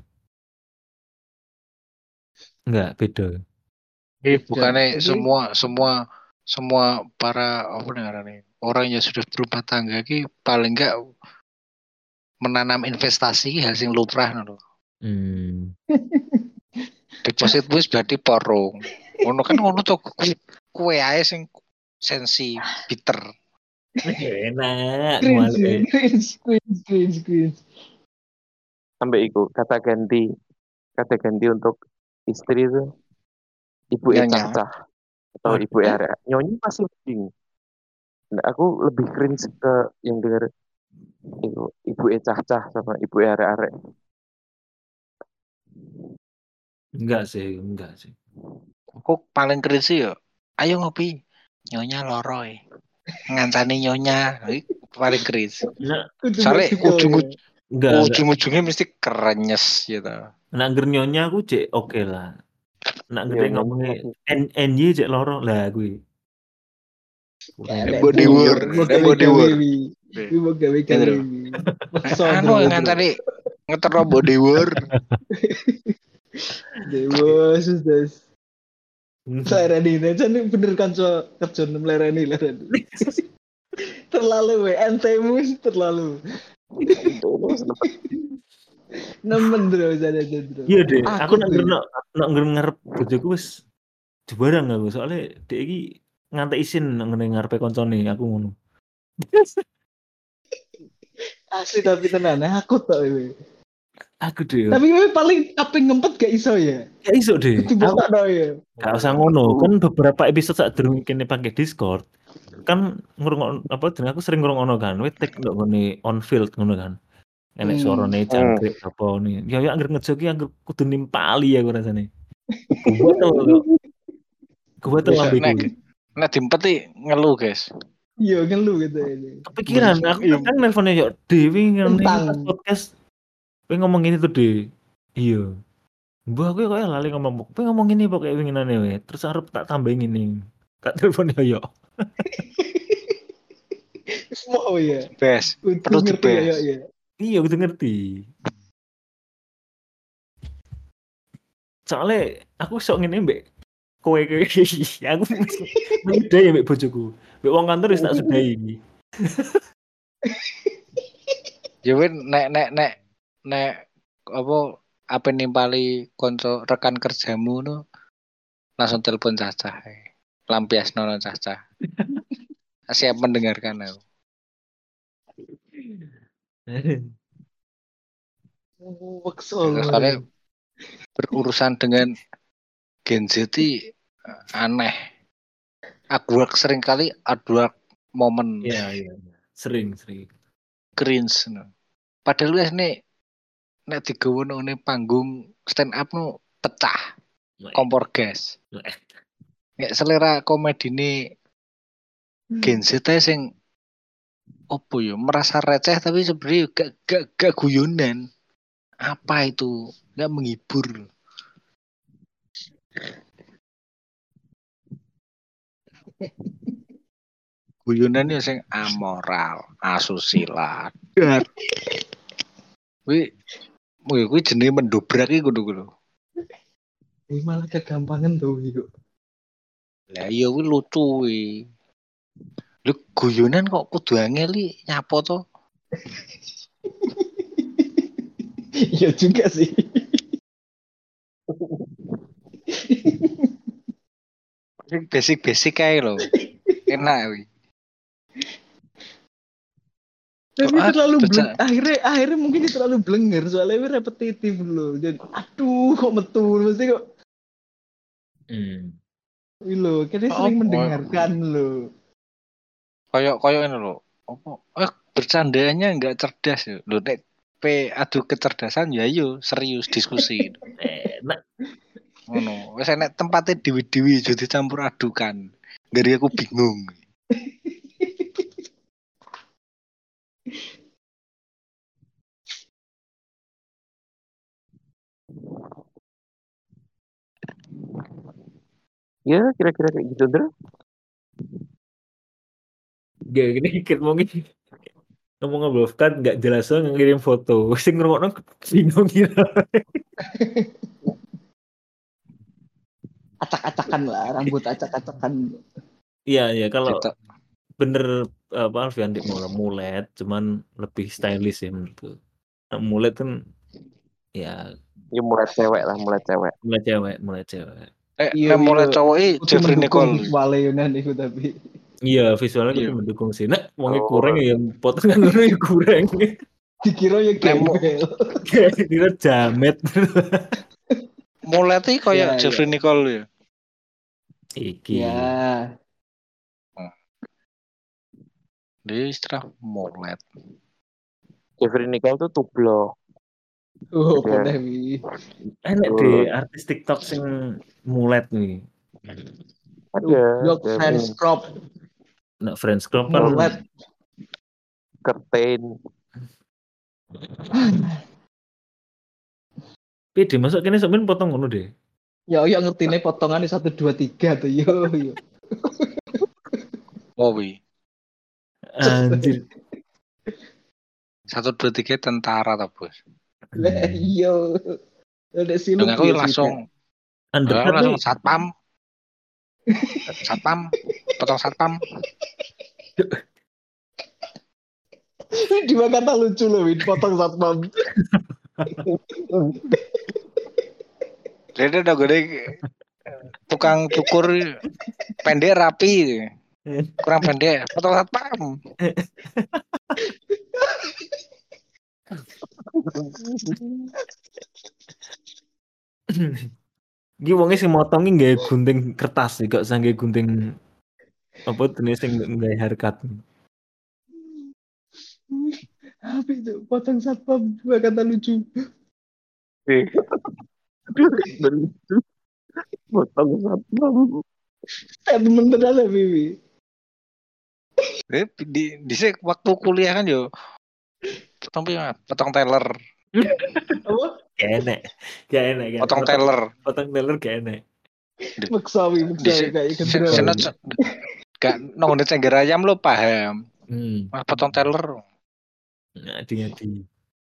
Enggak, beda. Bukannya semua para apa namanya orang yang sudah berumah tangga ki paling enggak menanam investasi hal sing lumrah lho. Deposit wis berarti porong. Ngono kan ngono to kue ae sing sensi bitter. Enak. Cringe. Sampai iku kata ganti untuk istri itu ibu cacah atau ibu area. Nyonya masih mending. Nah, aku lebih cringe ke yang denger itu ibu cacah sama ibu area. Enggak sih. Aku paling cringe sih yo. Ayo ngopi. Nyonya loroi. Ngancani nyonya. Paling cringe. Soalnya ujung-ujungnya mesti kerenyes gitu. Nak nyonya aku cek oke lah. Nak gede ngomongnya NY cek loro lah gue. Body war. Anu ngancani ngeterno body war. Dewas. Lereni aja nih bener kan kerja lereni. Terlalu entemu terlalu. Nemen bro sana bro. Iya deh, aku nak tuh. ngarep bojoku wis jebarang aku soalnya dia iki ngantek isin nang ngarepe koncone aku ngono. Asli tapi tenan aku tok iki. Aku deh. Tapi paling apa ngempet gak iso ya? Gak iso deh. Aku ya. Gak usah ngono, kan beberapa episode saat durung kene pakai Discord. Kan ngrungokno apa jeneng aku sering ngrungokno kan, wetek ndok ngene on field ngono kan. Enek suarane jangkrik apa nih. Ya anggere ngejoki anggere kudu nimpali aku rasane. Kuwatel kok. Kuwatel lambe ku. Nek dimpeti ngeluh, guys. Iya ngeluh gitu ini. Kepikiran aku kan nelponnya yo Dewi ngene pas podcast. Pengen ngomong ini tuh deh. Iya. Mbah aku kok lali ngomong. Pengen ngomong ini pokoknya winginane we. Terus arep tak tambahin ini. Tak telepon yo. Semua ya. Bes. Perlu dibes. Ya. Iya, udah ngerti. Soalnya aku sok ngene mbek kowe aku menyudahi mbek bojoku. Mbek wong kantor wis tak sudahi. Ya nek apa nimpali konco rekan kerjamu no langsung telepon Caca. Lampiasno Caca. Siap mendengarkan aku. Soalnya berurusan dengan Gen Z aneh. Awkward sering kali awkward momen. Iya. Sering. Cringe. No. Padahal wes nek digawe nang panggung stand up no pecah. Kompor gas. Nek selera komedine Gen Z sing opo yo merasa receh tapi sebenarnya gak guyonan. Apa itu? Gak menghibur. Guyonan ya sing amoral, asusila. Kuwi jenenge mendobrak iki kudu. Malah kegampangan tuh yo. Lah iya kuwi lucu kuwi. Lho guyonan kok kudu angel nyapa to? Iya juga sih. Basic kae lho. Enak kuwi. Tapi terlalu akhirnya mungkin terlalu blenger soalnya repetitif loh. Jadi aduh kok metu mesti kok. Loh, kita sering mendengarkan loh. Koyok ini loh. Bercandanya enggak cerdas ya. Loh nek adu kecerdasan ya yo serius diskusi. Ngono. Wis enek tempatnya dewi-dewi aja dicampur adukan. Dari aku bingung. Ya kira-kira kayak gitu Dra. Gak gini mungkin ngomong kan nggak jelas soal ngirim foto. Sing ngrungokno bingung kira. Acak-acakan lah, rambut acak-acakan. Iya kalau bener apa Alfian dik mulet cuman lebih stylish ya menurutku. Mulet kan ya mulai cewek lah, mulai cewek. Iya, mulai cowok Jeffrey Nicole. Visualnya Yunan itu tapi. Iya, visualnya itu mendukung sih. Nah, wongnya kurang ya potongan ngono ya kurang. Dikira ya gembel. Dikira jamet. Mulai tuh kayak Jeffrey Nicole ya. Iki. Ya. Dia istilah mulai. Jeffrey Nicole tuh tublok. Boleh wi. Enak deh artis TikTok sing mulet nih. Ada. French crop. Nah, French crop kan mulet. Kertain. Pede masuk kene sampean potong ngono deh. Ya ngertine potongannya 1 2 3 tuh yo. Oh wi. Anjir. 1 2 3 tentara ta, Bos. Lah iya. Ada siluk aku langsung undercut langsung satpam. Satpam, potong satpam. Dua kata lucu loh, Win. Potong satpam. Jadi udah gede tukang cukur pendek rapi, kurang pendek, potong satpam. Iki wonge sing motongi nggawe gunting kertas sih, kok sangge gunting apa jenis sing nggawe haircut. Apa itu? Potong satpam. Dua kata lucu. Potong satpam. Temen tenan lah, Bibi. Di waktu kuliah kan yo potong teller. Apa? Gak enak. Potong teller. Potong teller gak enak. Maksawi kayak gendera. Gak nongol cengger ayam lo paham. Potong teller. Hati-hati.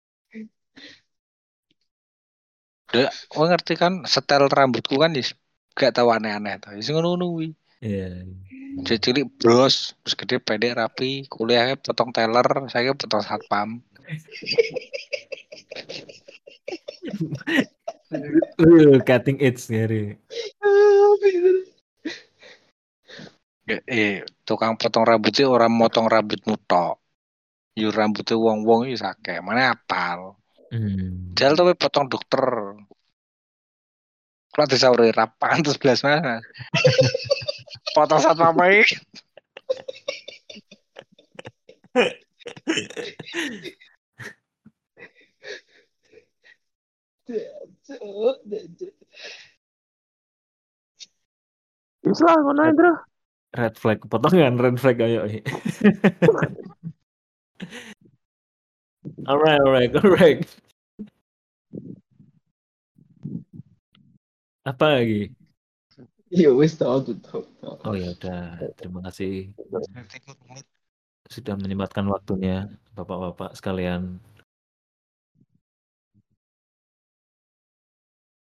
Udah, gue ngerti kan setel rambutku kan gak tahu aneh-aneh tuh. Sing ngono kuwi. Iya. Cilik bros, terus gede pendek rapi, kuliahnya potong teller, saya potong satpam. Cutting edge ngeri. Tukang potong rambutnya orang motong rambutmu tok. Yo rambutnya wong-wong iki akeh, mana apal. Jal tapi potong dokter. Kalau disauri rapan terus belas mana. Potong satpam iki. Islah ngono Indra. Red flag, potongan red flag ayo. Alright. Apa lagi? Ya wis tau. Oh ya udah, terima kasih sudah menyempatkan waktunya Bapak-bapak sekalian.